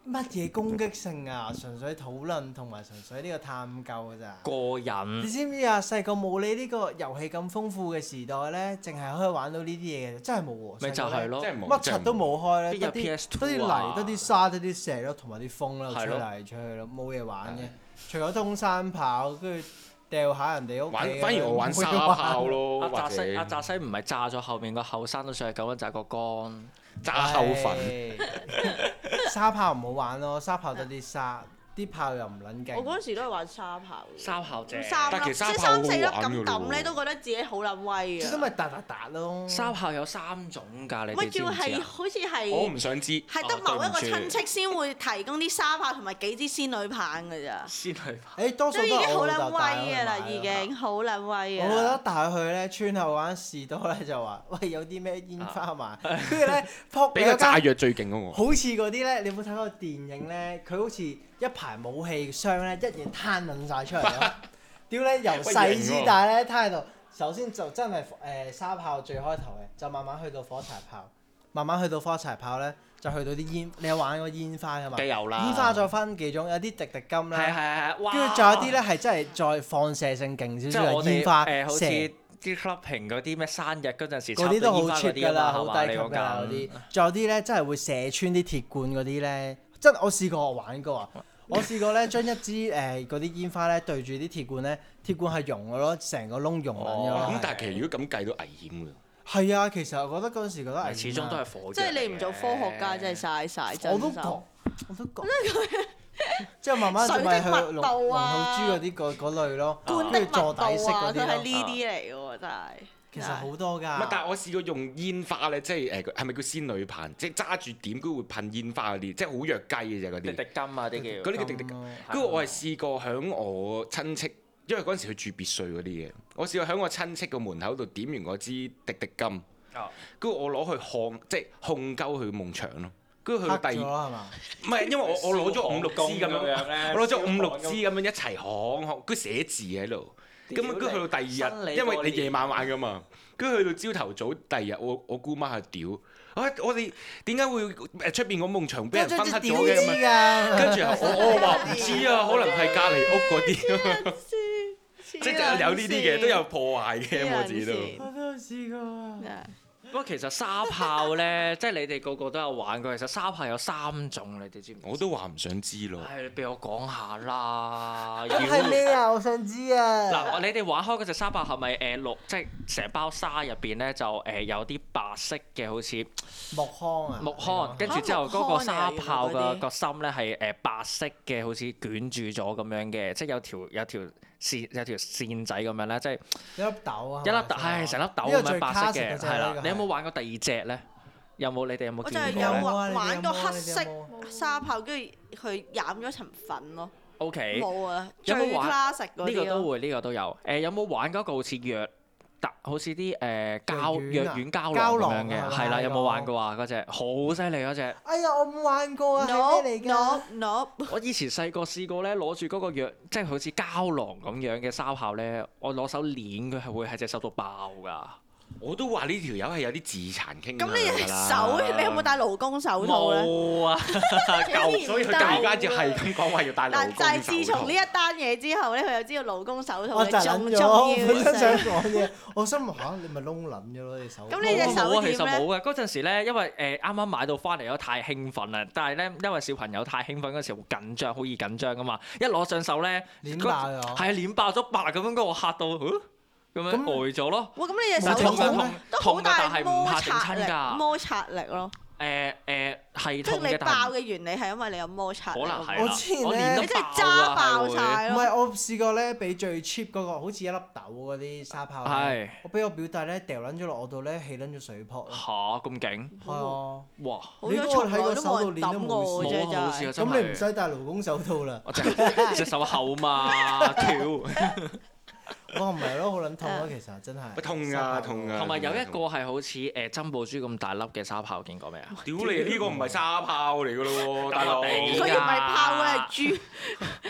乜嘢攻擊性啊？純粹討論同埋純粹呢個探究㗎咋。 過癮你。知唔知啊？細個冇你呢個遊戲咁豐富嘅時代咧，淨係可以玩到呢啲嘢嘅，真係冇喎。 咪就係咯真係冇乜柒都冇開咧， 邊有得啲 P S 得啲 two 啊泥、得啲沙、得啲石咯，同埋啲風啦，吹係咯嚟吹去咯，冇嘢玩嘅。除咗通山跑，跟住掉下人哋屋企玩咁樣。 反而我玩沙炮咯， 阿或者澤西阿澤西唔係炸咗後面個後生都上去救一隻個缸。 炸後粉。 唉沙炮唔好玩咯，沙炮得啲沙，啲炮又唔撚勁。 我嗰陣時都係玩沙炮嘅。 沙炮正。 三粒， 但其實即係沙炮三四粒好玩㗎咁抌咧， 喎都覺得自己好撚威最多啊！ 咪打打打咯。 沙炮有三種㗎，你咪叫哋知唔知啊？ 係好似我係唔想知。 係得某一個親戚先會提供啲沙炮同埋幾支仙女棒㗎咋， 先去誒，多數都已都係經好撚我老豆帶我威㗎啦， 去買已經好撚威我覺得啊！ 帶佢去咧，村後玩士多咧就話：喂，有啲咩煙花賣？跟住咧，撲比較有間炸藥最勁嗰個。 好似嗰啲咧，你有冇睇過電影咧？佢好似一排武器箱咧，一嘢攤撚晒出嚟咯。屌咧，由細至大咧攤喺度。首先就真係誒、呃、沙炮最開頭嘅，就慢慢去到火柴炮，慢慢去到火柴炮咧，就去到啲煙。你有玩過煙花㗎嘛？ 梗有啦。 煙花再分幾種，有啲滴滴金係係啦， 係，哇！ 跟住仲有啲咧係真係再放射性勁少少即係我哋嘅煙花誒，好似射。 啲 clubbing 嗰啲咩生日嗰陣時嗰啲都好插到 cheap 煙花嗰啲啊嘛， 㗎啦，好係嘛？你低級㗎啦講緊嗰啲。仲有啲咧，真係會射穿啲鐵罐嗰啲咧，真我試過我玩過啊！我試過咧，將一支誒嗰啲煙花咧對住啲鐵罐咧，鐵罐係溶嘅咯，成個窿溶緊咗咯。 咁但係其實如果咁計都危險㗎。 係啊，其實我覺得嗰陣時覺得危險啊始終都係火藥嚟嘅。 即係你唔做科學家真係嘥晒，真我都覺， 心。 我都覺。之後慢慢就咪去水的龍密度啊龍吐珠嗰啲嗰嗰類咯， 罐的密跟住坐底式度啊， 嗰啲咯。 都係呢啲嚟嘅喎，真係。 其實好多唔係， 㗎。 但係我試過用煙花咧，即係誒係咪叫仙女棒？即係揸住點，佢會噴煙花嗰啲，即係好弱雞嘅啫嗰啲。 滴滴金啊啲叫。 嗰啲叫滴滴金。跟住我係試過響我親戚，因為嗰陣時佢住別墅嗰啲嘅，我試過響我親戚個門口度點完嗰支滴滴金， 哦跟住我攞去控，即係控鳩佢夢牆咯。跟住去黑到第二， 咗啦係嘛？ 唔係因為我我攞咗五六支咁樣， 樣我攞咗五六支咁樣一齊行行，跟住寫字喺度。咁跟住去到第二日，因為你夜晚玩噶嘛，跟住去到朝頭早第二日，我我姑媽係屌，啊我哋點解會誒出邊個夢牆俾人分黑咗嘅咁樣？ 㗎。 跟住我我話唔知啊，可能係隔離屋嗰啲，即係有呢啲嘅都有破壞嘅，我自己都。 我都有試過啊。 不過其實沙炮咧，即係你哋個個都有玩過。其實沙炮有三種，你哋知唔知？ 我都話唔想知咯。 唉，你俾我講下啦。 咁係咩啊？我想知啊。 嗱，你哋玩開嗰隻沙炮係咪誒綠？即係成包沙入邊咧就誒有啲白色嘅，好似木糠啊。 木糠，跟住之後嗰個沙炮個個心咧係誒白色嘅，好似捲住咗咁樣嘅，即係有條有條線有條線仔咁樣咧，即係一粒豆啊。 一粒豆，係成粒豆咁樣白色嘅，係啦。你有冇玩過第二隻咧？有冇？你哋有冇我就係見過咧有玩啊你哋有玩過冇啊黑色你哋有冇沙炮，跟住佢染咗層粉咯。 ？O K。 冇啊，最有冇玩 classic 嗰啲咯。 呢個都會，呢個都有。誒有冇玩嗰個好似藥特，好似啲誒膠藥丸膠囊咁樣嘅？係啦，有冇玩過啊？嗰隻好犀利嗰隻。 哎呀，我冇玩過啊， No 係咩嚟 no 㗎？ no， 我以前細個試過咧，攞住嗰個藥，即係好似膠囊咁樣嘅沙炮咧，我攞手攣佢係會喺隻手度爆㗎。 我都話呢條友係有啲自殘傾向咁你隻㗎啦手，你有冇戴勞工手套咧？ 冇啊， 舊所以佢突然間就係咁講話要戴勞嗱， 工就係自手套從呢。一單嘢之後咧，佢就知道勞工手套我就嘅重諗咗，我重本身想要性。 講嘢，我心諗嚇你咪窿撚咗咯，你手。 咁你隻手冇啊， 點咧其實冇嘅。嗰陣時咧，因為誒啱啱買到翻嚟咗，太興奮啦。但係咧，因為小朋友太興奮嗰時好緊張，好易緊張噶嘛。一攞上手咧， 攣爆咗係啊，攣爆咗白咁樣，跟我嚇到，嗯咁樣咁呆咗咯。 哇！咁你隻手冇痛㗎都好都好痛㗎大但係唔摩嚇整擦力， 親㗎摩擦力咯。 誒誒係即痛嘅， 係你爆但係嘅原理係因為你有摩擦力。 可能係啦我之前我咧練得你真係爆揸爆㗎係晒咯。 唔係，我試過咧，俾最 cheap 嗰個，好似一粒豆嗰啲沙炮係咧，我俾我表弟咧掉撚咗落我度咧，起撚咗水泡會咯。 嚇咁勁， 係啊， 哇！ 好彩從來都冇人抌我冇啫， 啊好似啊真係。 咁你唔使戴勞工手套啦。 我隻隻手厚嘛，跳。 我唔係咯，好撚痛咯，其實真係。 喂痛啊痛啊同埋有一個係好似誒珍寶珠咁大粒嘅沙炮，見過未啊？ 屌你！呢個唔係沙炮嚟㗎咯喎，大佬。 佢佢唔係炮，佢係豬。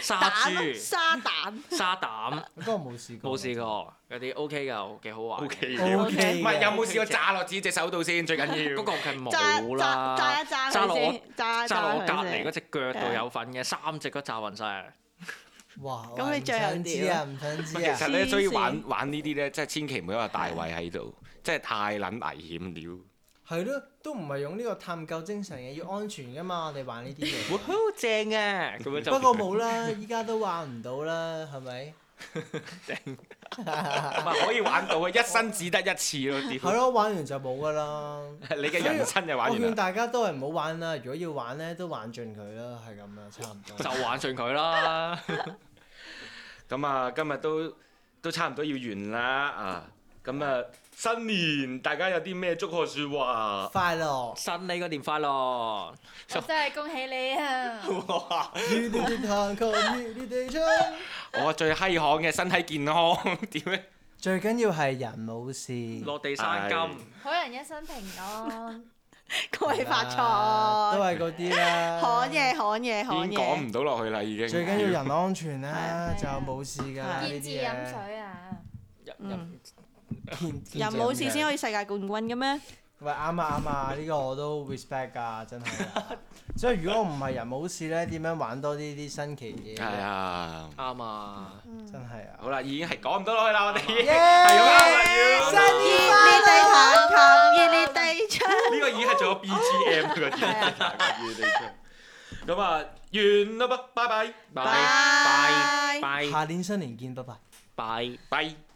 沙蛋豬、 沙蛋。 沙膽， 嗰個冇試過。 冇試過，嗰啲 OK 㗎，幾好玩。 O K O K 唔係有冇試過炸落自己隻手度先？最緊要嗰個係揸冇啦， 揸揸一揸揸落我佢先，揸一揸落我揸佢先隔離嗰隻腳度有份嘅，三隻都炸暈晒。 哇！ 咁你唔最後點想知啊？唔想知啊！ 其實咧， 黐所以線玩玩呢啲咧，真係千祈唔好有大胃喺度，真係太撚危險了。 係咯，都唔係用呢個探究精神嘅，要安全噶嘛。我哋玩呢啲嘢。 哇，好正啊！咁樣就不過冇啦，依家都玩唔到啦，係咪？ 唔係可以玩到嘅，一生只得一次咯。 係屌， 咯，玩完就冇噶啦。 你嘅人生就玩我勸完啦。 大家都係唔好玩啦，如果要玩咧，都玩盡佢啦，係咁啦，差唔多。 就玩盡佢啦。 咁啊，今日都都差唔多要完啦啊！咁啊，新年大家有啲咩祝賀説話？ 快樂！ 新你個年快樂！ 我真係恭喜你啊！ 哇！ 與你哋彈琴，與你哋唱。 我最閪行嘅身體健康點咧？ 最緊要係人冇事。 落地生金。 好人一生平安。 恭喜發都財。 係嗰啲啦。 罕嘢罕嘢已罕嘢。 經講唔到落去啦，已經。 最緊要人安全啦， 係就冇事㗎呢啲見字飲嘢。 水啊！ 嗯見見人字飲水冇事先可以世界冠軍嘅咩？ 喂，啱啊啱啊！呢個我都 respect 㗎，真係啊。所以如果我唔係人冇事咧，點樣玩多啲啲新奇嘢係咧？ 啊， 啱啊！ 真係啊！ 好啦，已經係講唔到落去啦，我哋係耶咁啱啦，要新熱烈地彈琴，熱烈地唱。 呢個已經係做咗 B G M 嗰啲咁啊，完啦噃，拜拜， 拜拜拜下年新年見，拜拜。 拜。 拜。